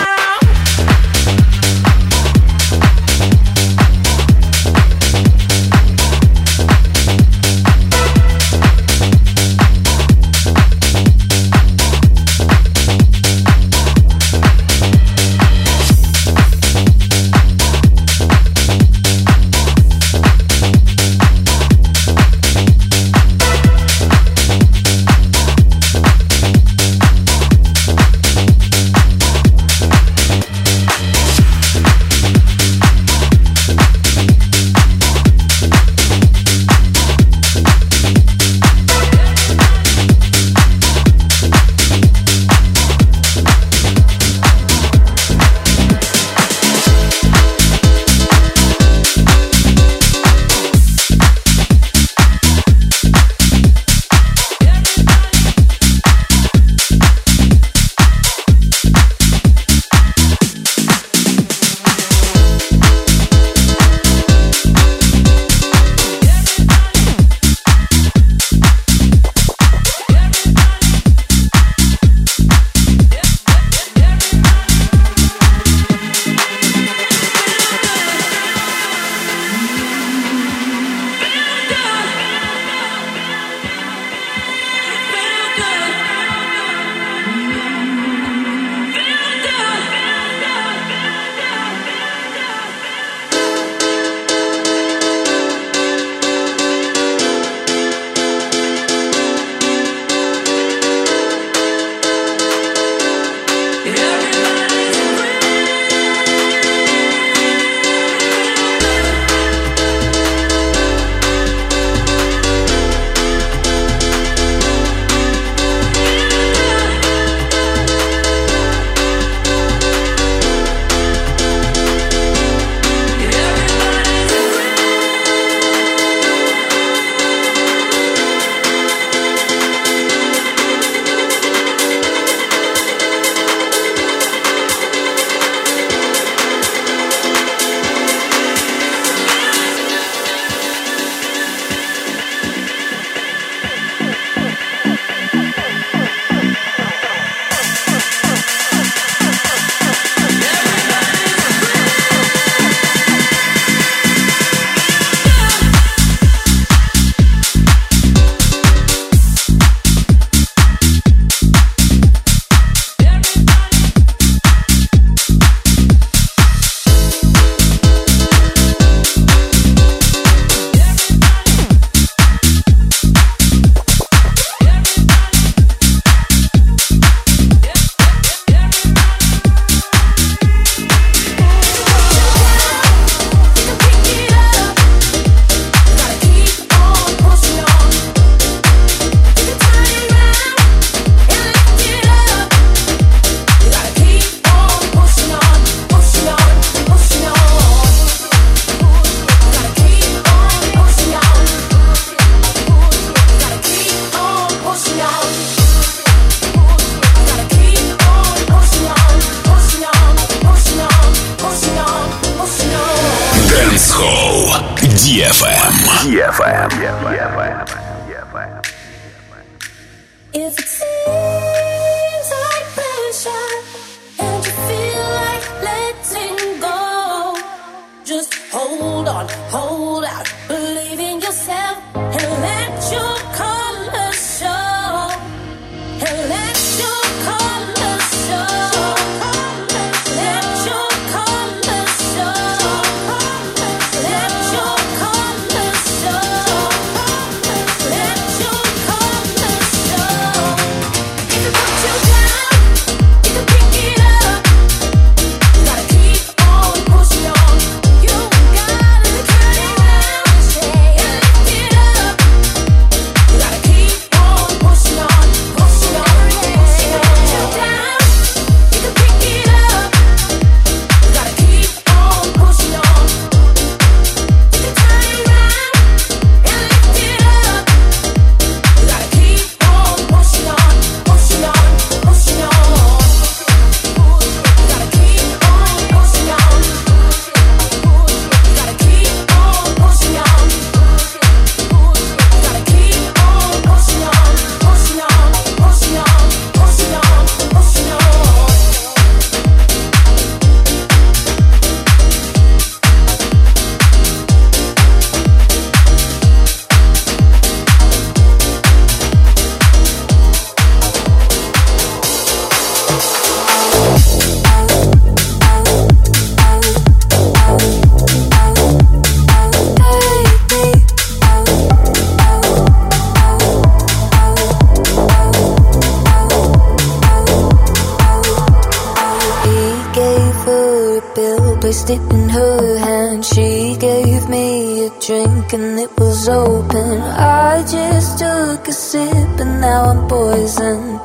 placed it in her hand. She gave me a drink and it was open. I just took a sip and now I'm poisoned.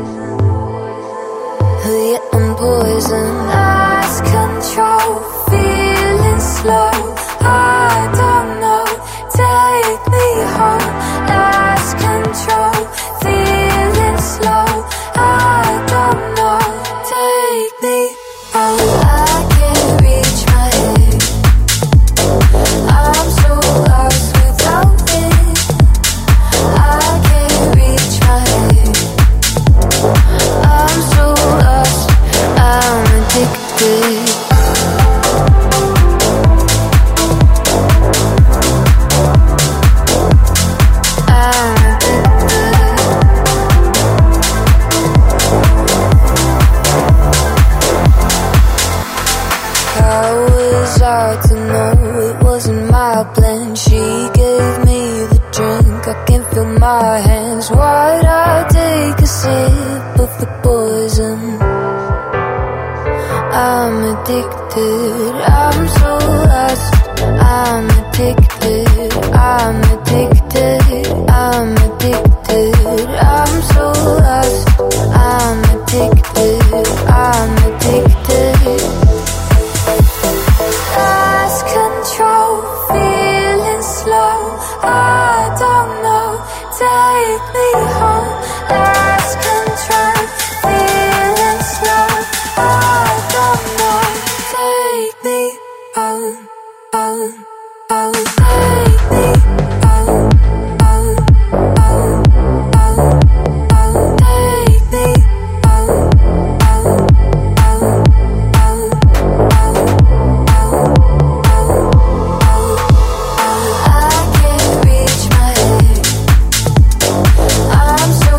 Yeah, I'm poisoned. Lost control, feeling slow. I don't know, take me home. Lost control, feeling slow. I don't know, take me home. I can't reach my head. I'm so lost without it. I can't reach my head. I'm so lost, I'm addicted. Hard to know, it wasn't my plan. She gave me the drink, I can feel my hands. Why'd I take a sip of the poison? I'm addicted, I'm so lost. I'm addicted, I'm addicted, I'm addicted. I'm so lost, I'm addicted, I'm addicted. Lost control, feeling slow. I don't know, take me home. Lost control, feeling slow. I don't know, take me home, home, home. Take me home, home, home, home, home. Take me home, home, home, home, home. I can't reach my head. I'm so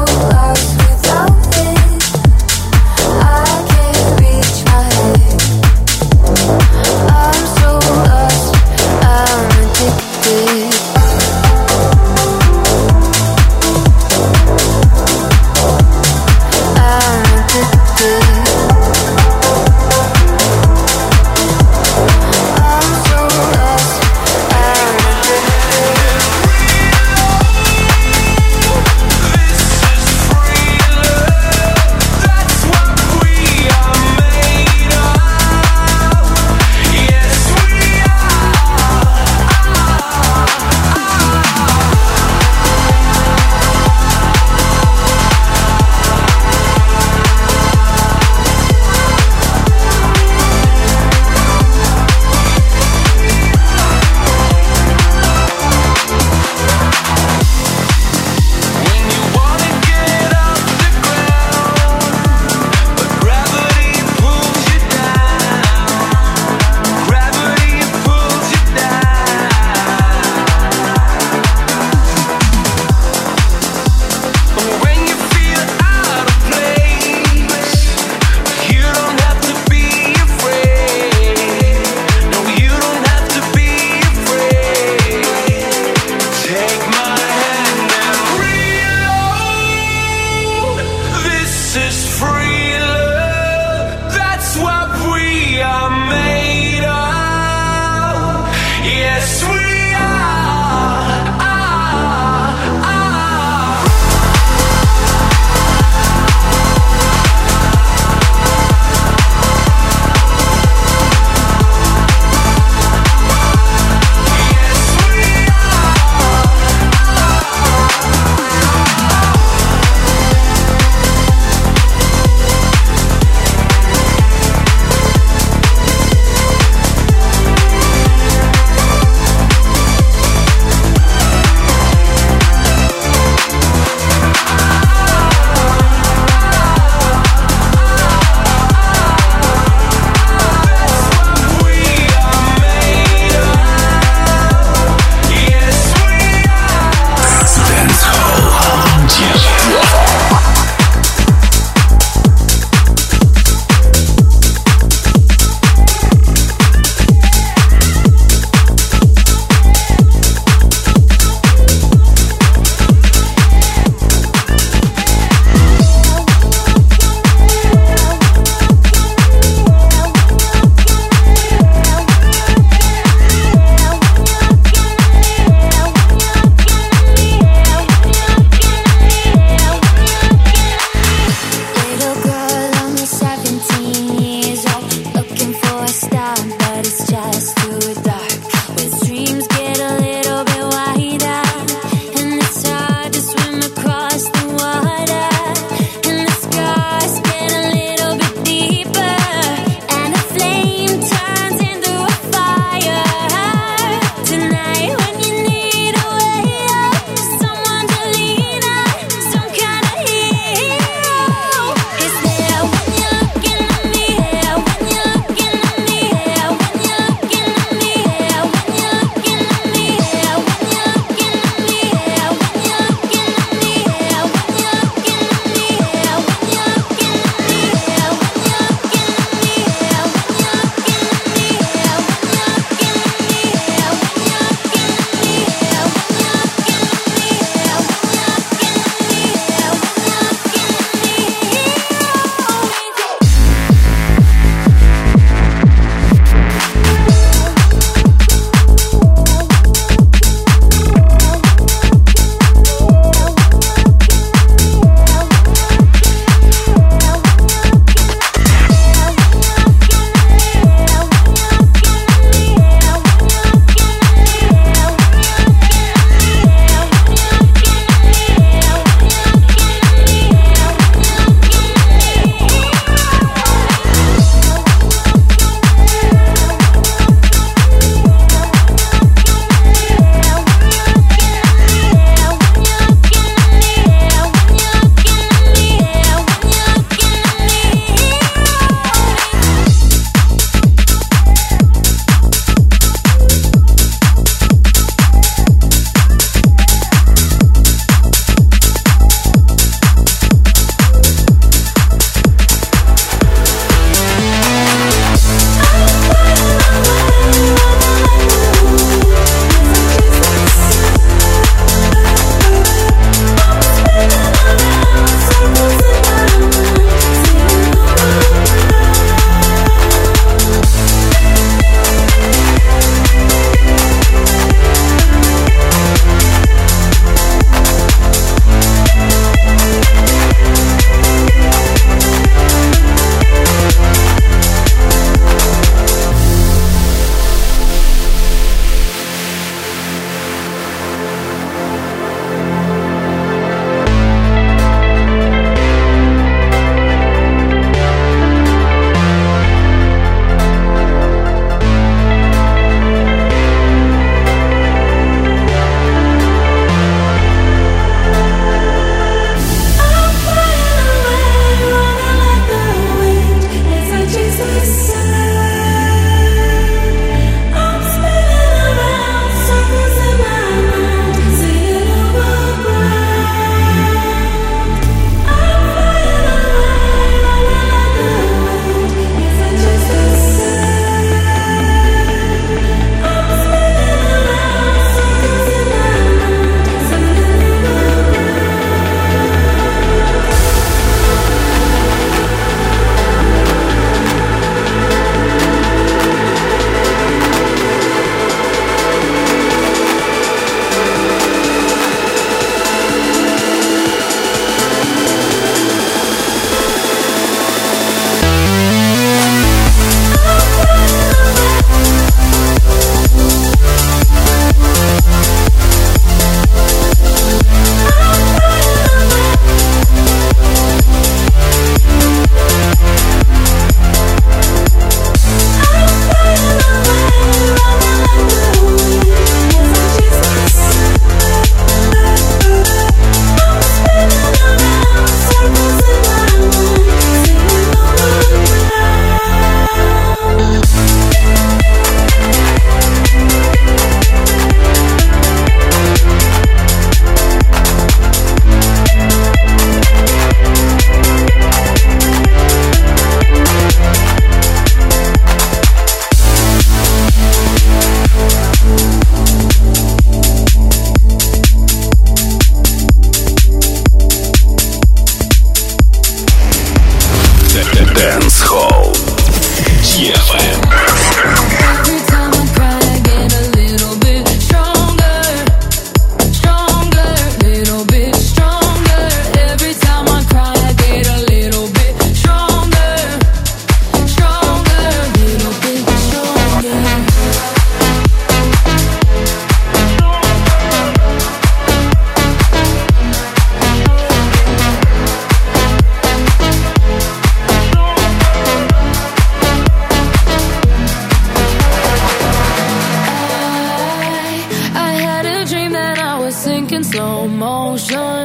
slow motion.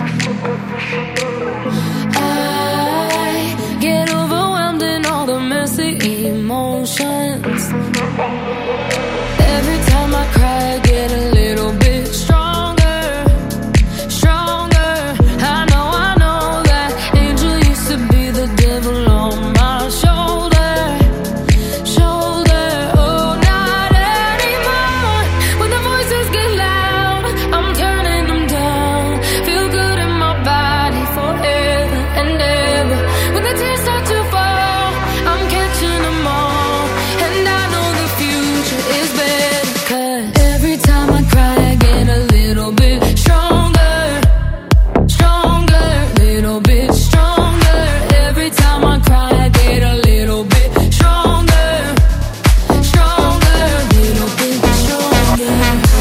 I get overwhelmed in all the messy emotions. Every time I cry, I get a little bit stronger, stronger. I know that angel used to be the devil on my shoulder, shoulder. Oh, not anymore. When the voices get loud, I'm turning them down. Feel good in my body forever and ever. When the tears start to fall, I'm catching them all. And I know the future is better. 'Cause every time I cry, I get a little bit stronger, stronger, little bit stronger. Every time I cry, I get a little bit stronger, stronger, little bit stronger.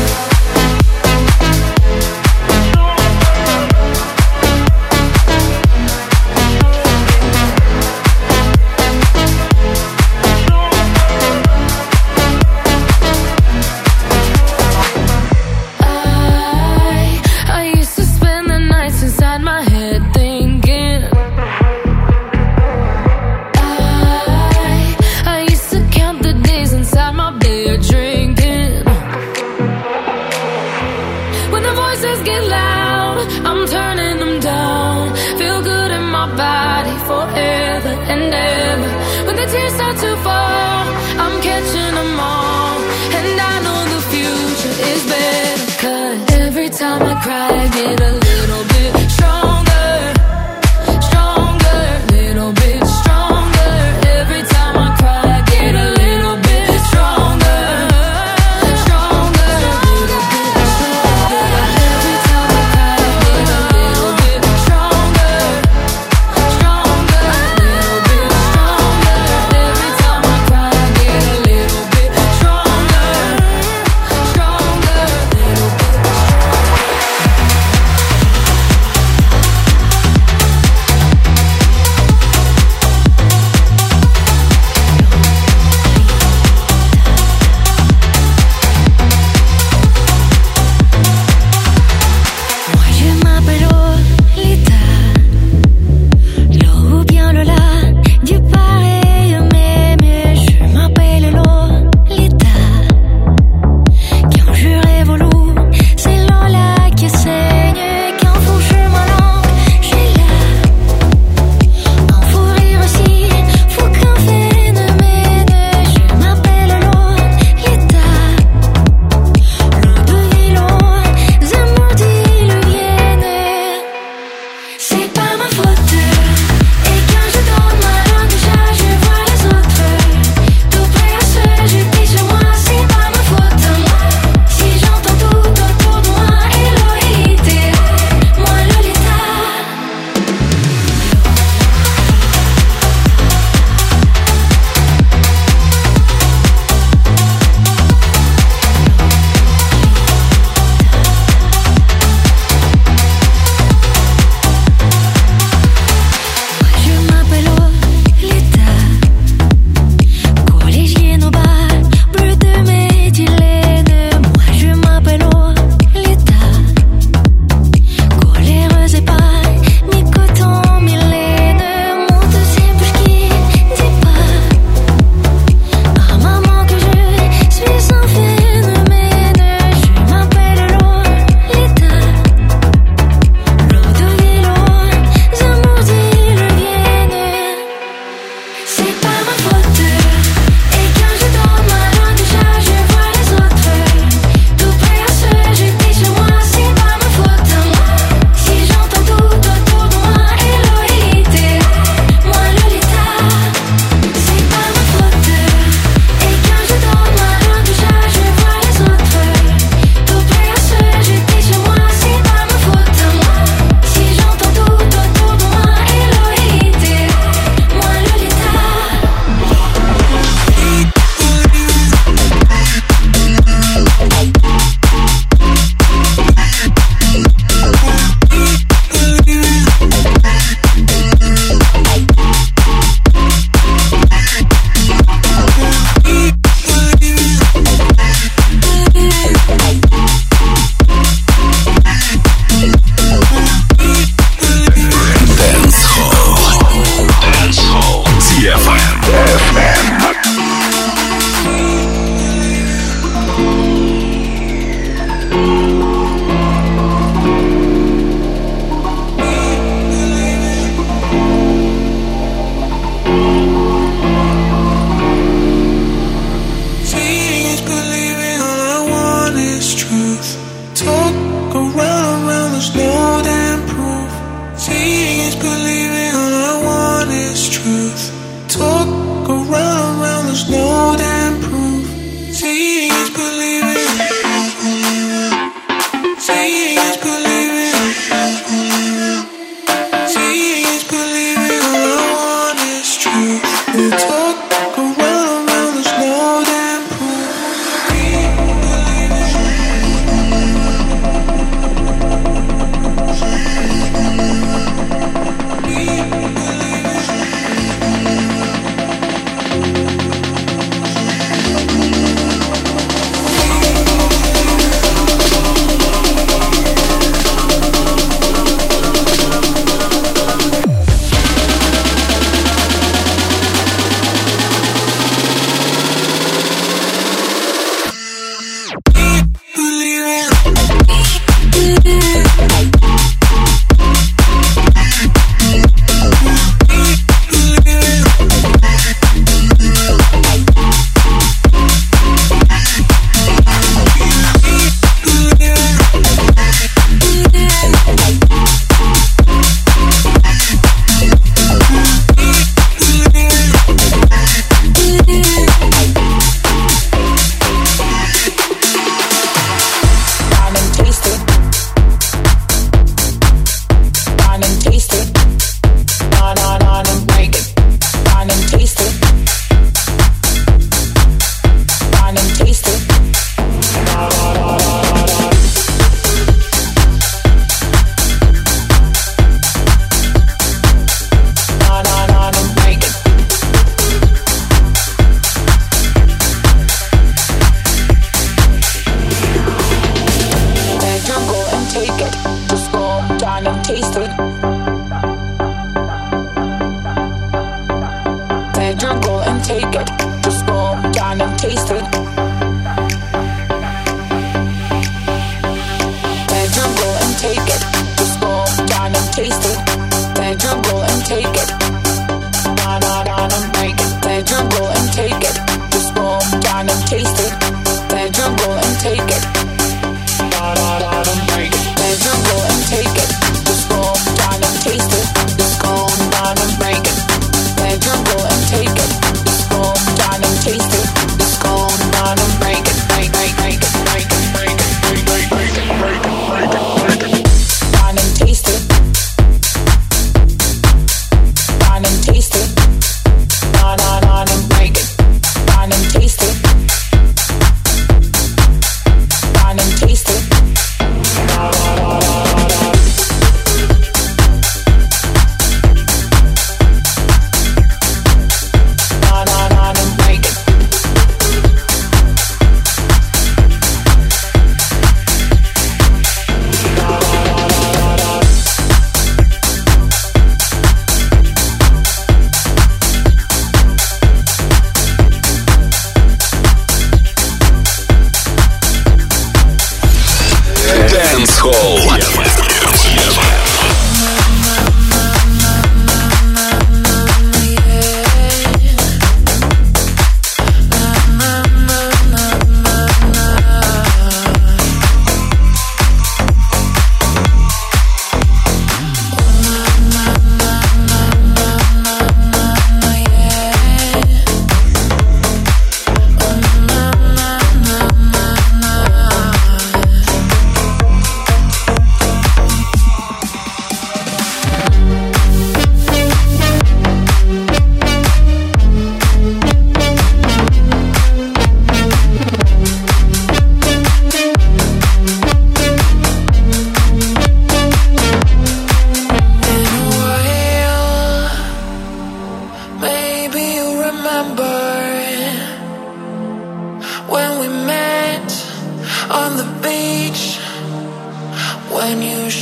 I used to spend the nights inside my head thinking. I used to count the days inside my bed drinking. When the voices get loud, I'm turning them down. Feel good in my body forever and ever. When the tears start to fall, I'm catching them all. And I know the future is better. 'Cause every time I cry, I get a little bit stronger, stronger, little bit stronger. Every time I cry, I get a little bit stronger, stronger, little bit stronger. Every time I cry, I get a little bit stronger, stronger, little bit stronger. Every time I cry, I get a little bit stronger, stronger, little bit stronger.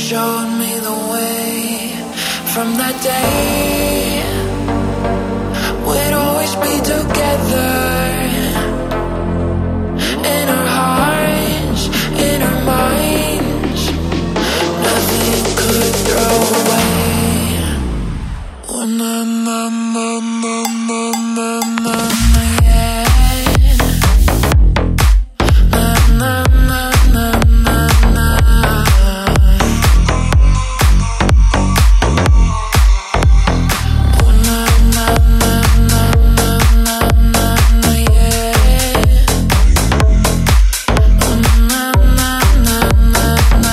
showed me the way. From that day, we'd always be together. In our hearts, in our minds, nothing could throw away. Oh, na na na na na na na na, yeah. Na na na na na na. Oh, na na na na na na na na, yeah. Oh, na na na na na.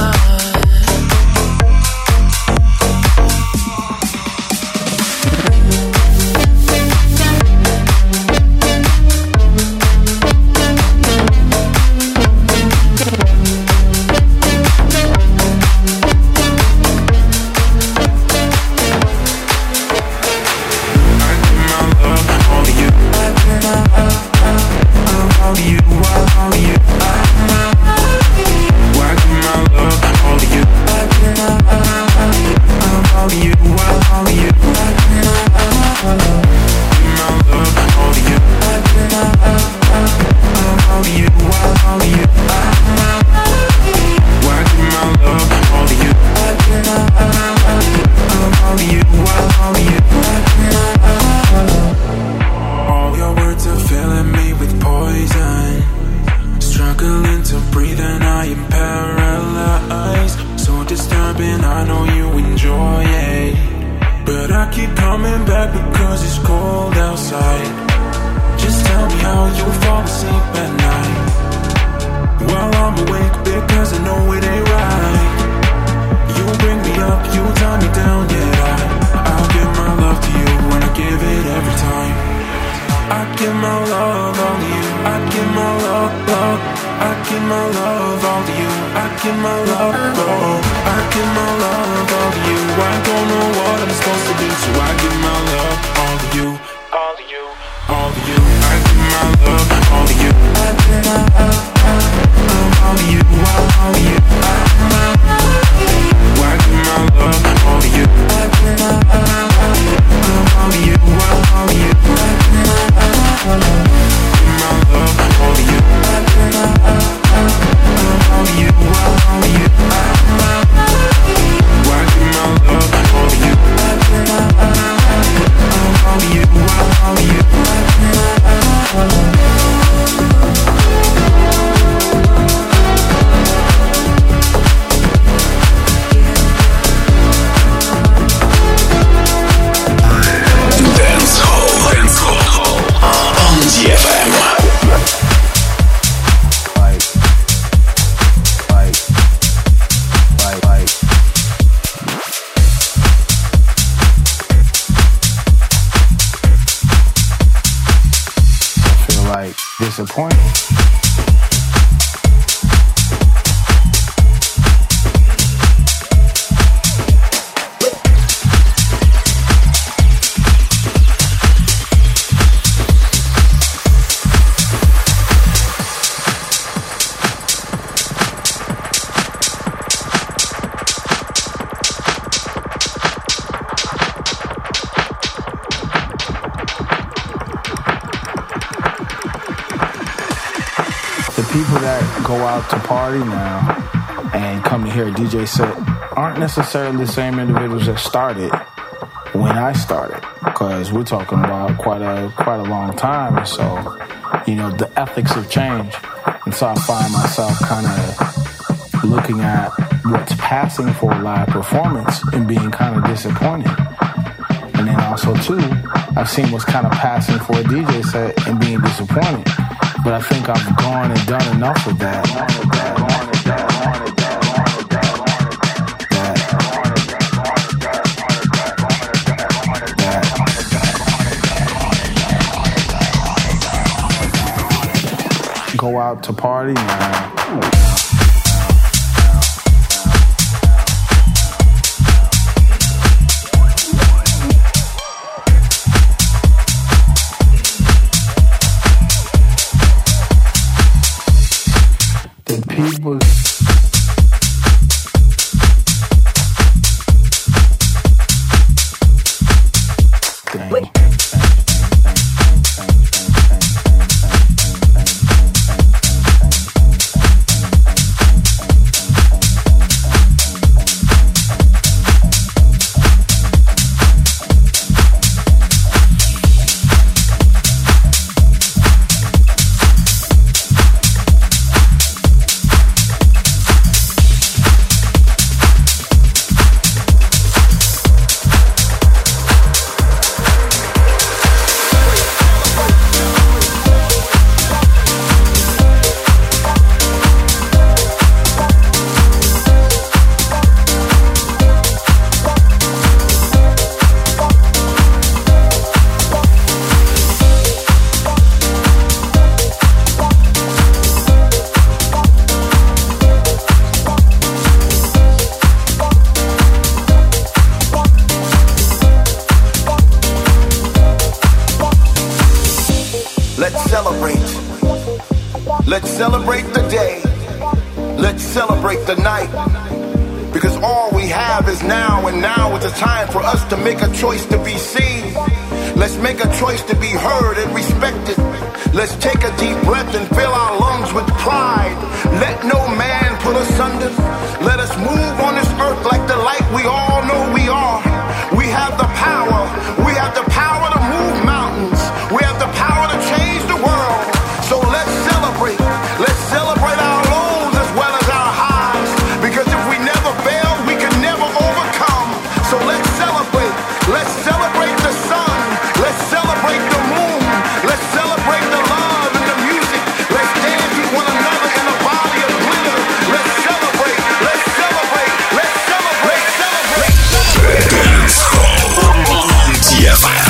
All your words are filling me with poison. Struggling to breathe and I am paralyzed. So disturbing, I know you enjoy it. But I keep coming back because it's cold outside. Just tell me how you fall asleep at night while I'm awake, because I know it ain't right. You bring me up, you tie me down, yeah. I'll give my love to you and I give it every time. I give my love all to you. I give my love, love. I give my love all to you. I give my love, oh. I give my love all to you. I don't know what I'm supposed to do, so I give my love all to you. All to you, all to you. I give my love all to you. I give my love all to you. All to you. I give my love all to you. I give my love all to you. All to you. Disappointed. People that go out to party now and come to hear a DJ set aren't necessarily the same individuals that started when I started, because we're talking about quite a long time. And so, you know, the ethics have changed, and so I find myself kind of looking at what's passing for a live performance and being kind of disappointed. And then also too, I've seen what's kind of passing for a DJ set and being disappointed. But I think I've gone and done enough of that. Go out to party now. celebrate the day. Let's celebrate the night. Because all we have is now, and now is the time for us to make a choice to be seen. Let's make a choice to be heard and respected. Let's take a deep breath and fill our lungs with pride. Let no man put us under. Let us move on this earth like the light we all know we are. We have the power. We have the power to move mountains. We have the power to change the world. So let's celebrate. Let's celebrate our lows as well as our highs. Because if we never fail, we can never overcome. So let's celebrate. Let's celebrate the sun. Let's celebrate the moon. Let's celebrate the love and the music. Let's dance with one another in a body of glitter. Let's celebrate. Let's celebrate. Let's celebrate. Celebrate. Dance Hall on DFM.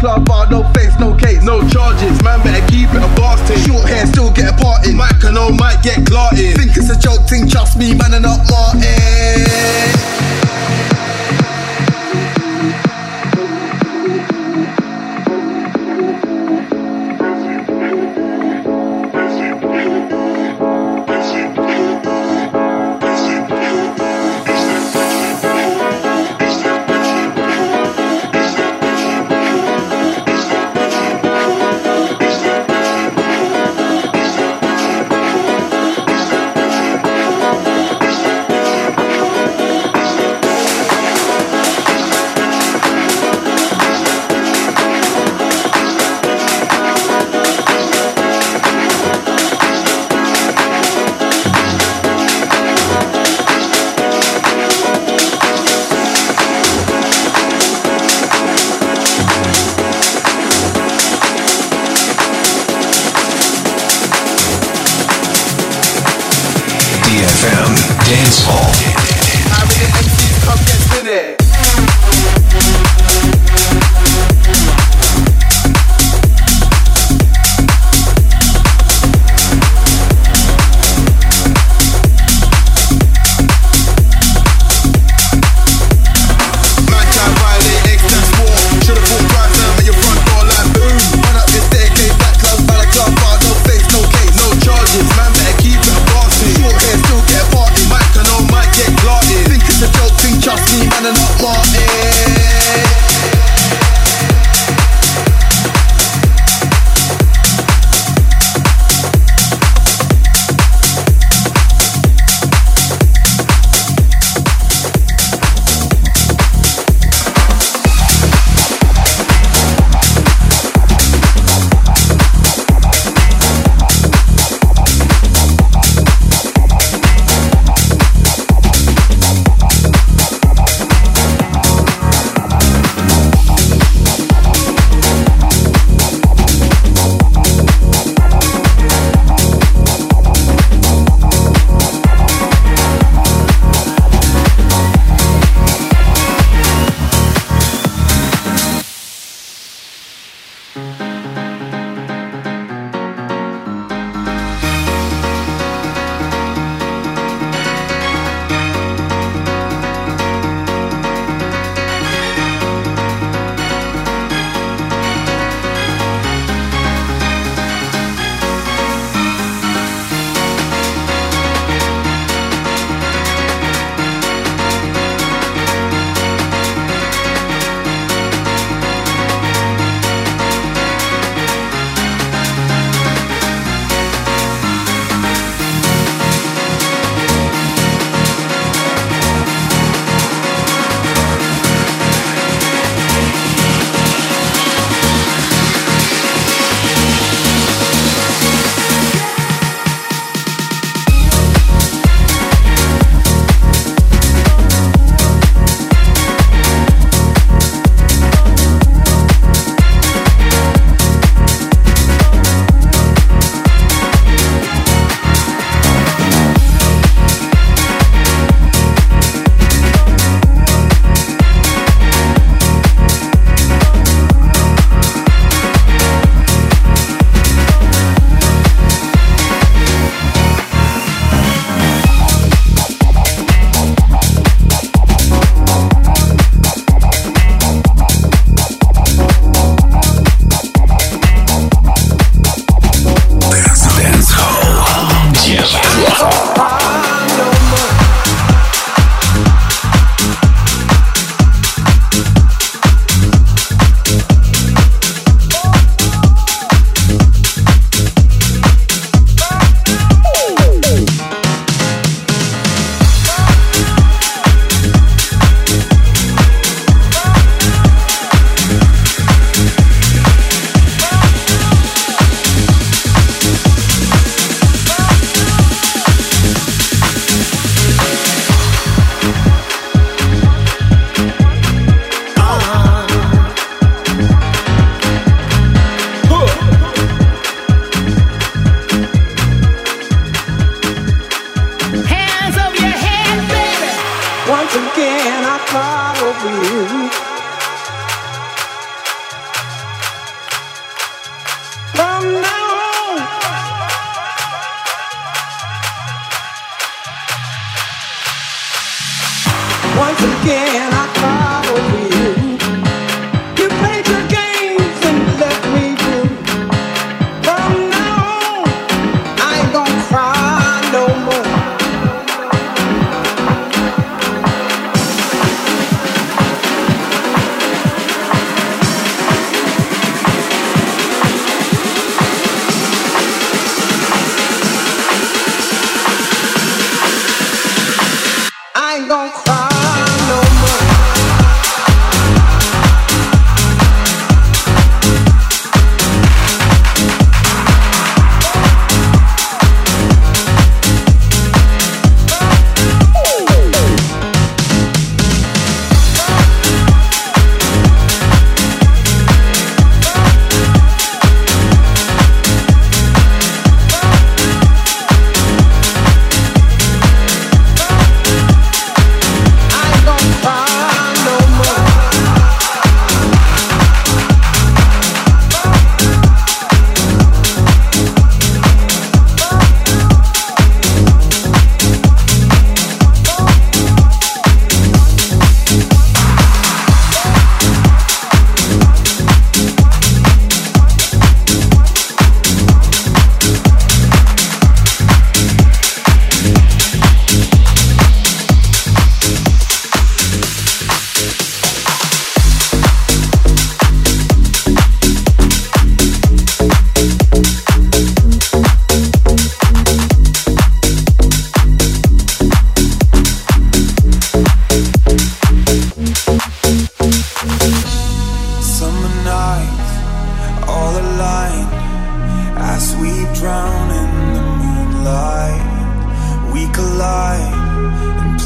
club bar, no face, no case, no charges. Man better keep it a boss thing. Short hair, still get a part in. Might can might get clotted. Think it's a joke thing, trust me, man, and not Martin. Dance Hall. I'm in the MC's, come get spinning. Trust me, man, and not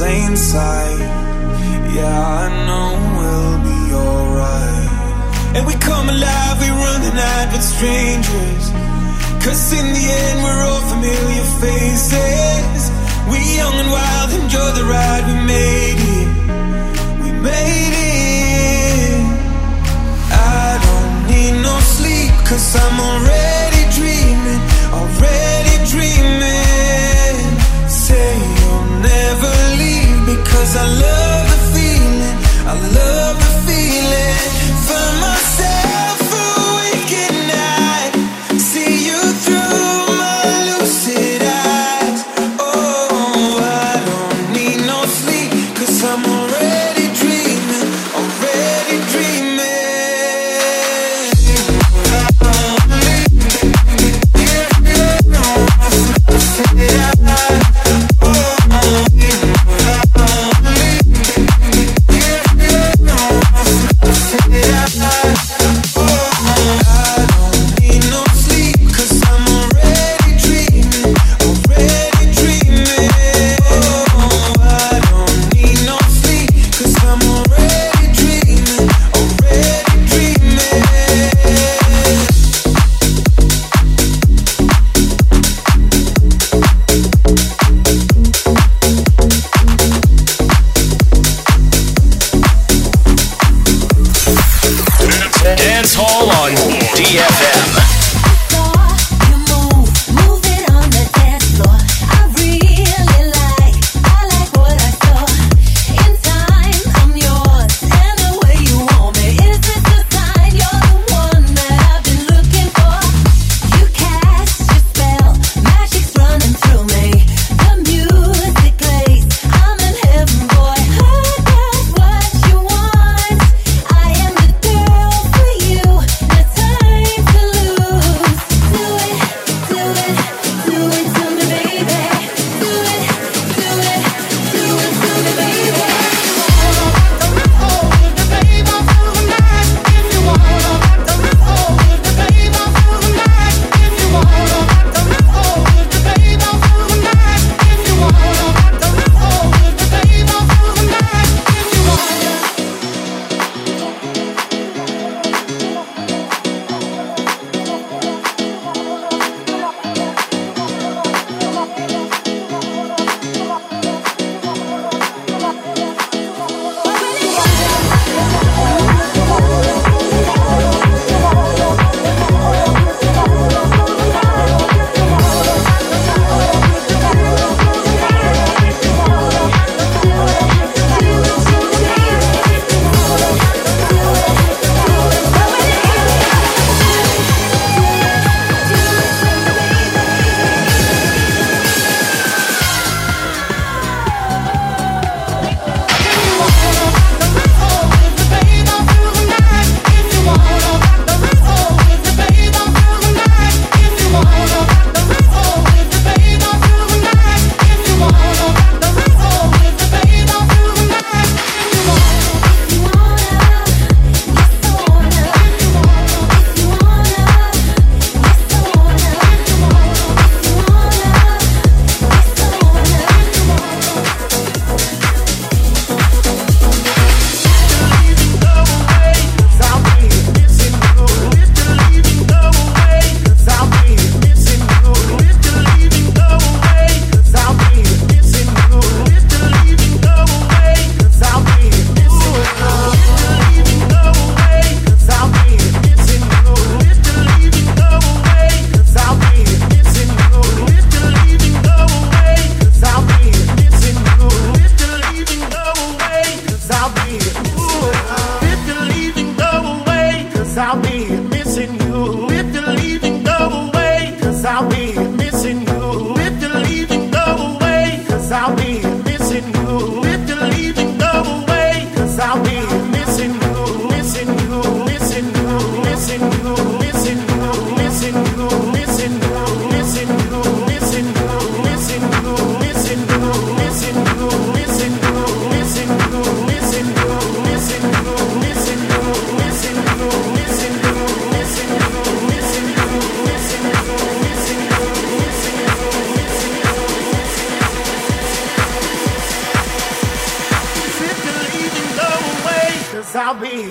plain sight. Yeah, I know we'll be alright. And we come alive, we run the night with strangers. 'Cause in the end we're all familiar faces. We young and wild, enjoy the ride, we made it. We made it. I don't need no sleep, 'cause I'm already dreaming, already dreaming. Say you'll never leave, because I love the feeling, I love the feeling. Find myself awake at night, see you through my lucid eyes. Oh, I don't need no sleep, 'cause I'm already dreaming, already dreaming.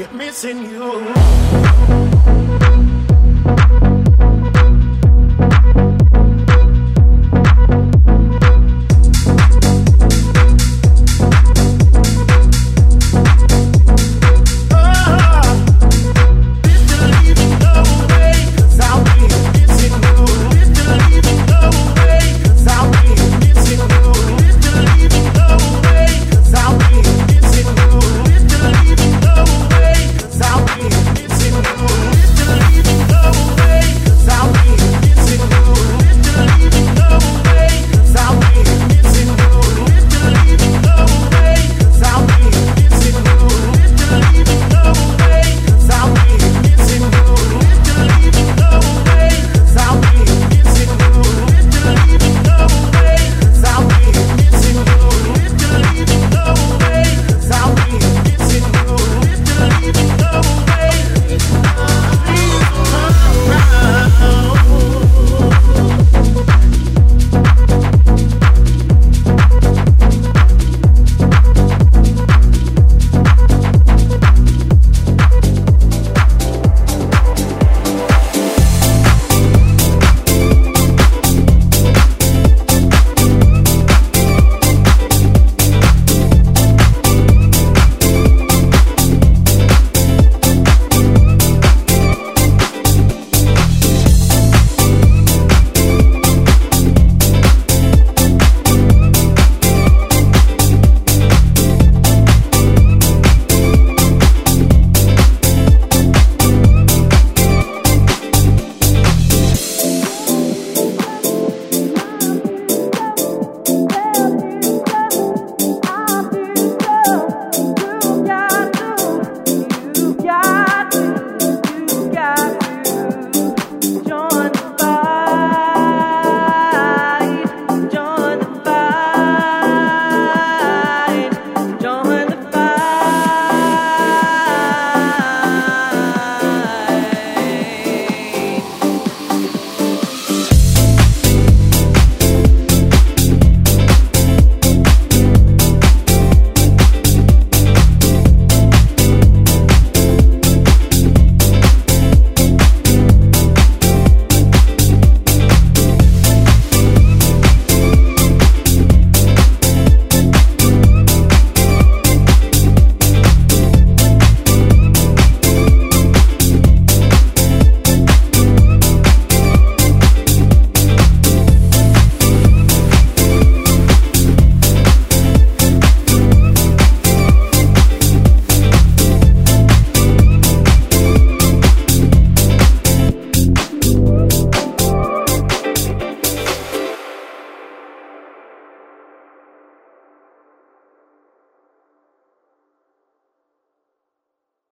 missing you.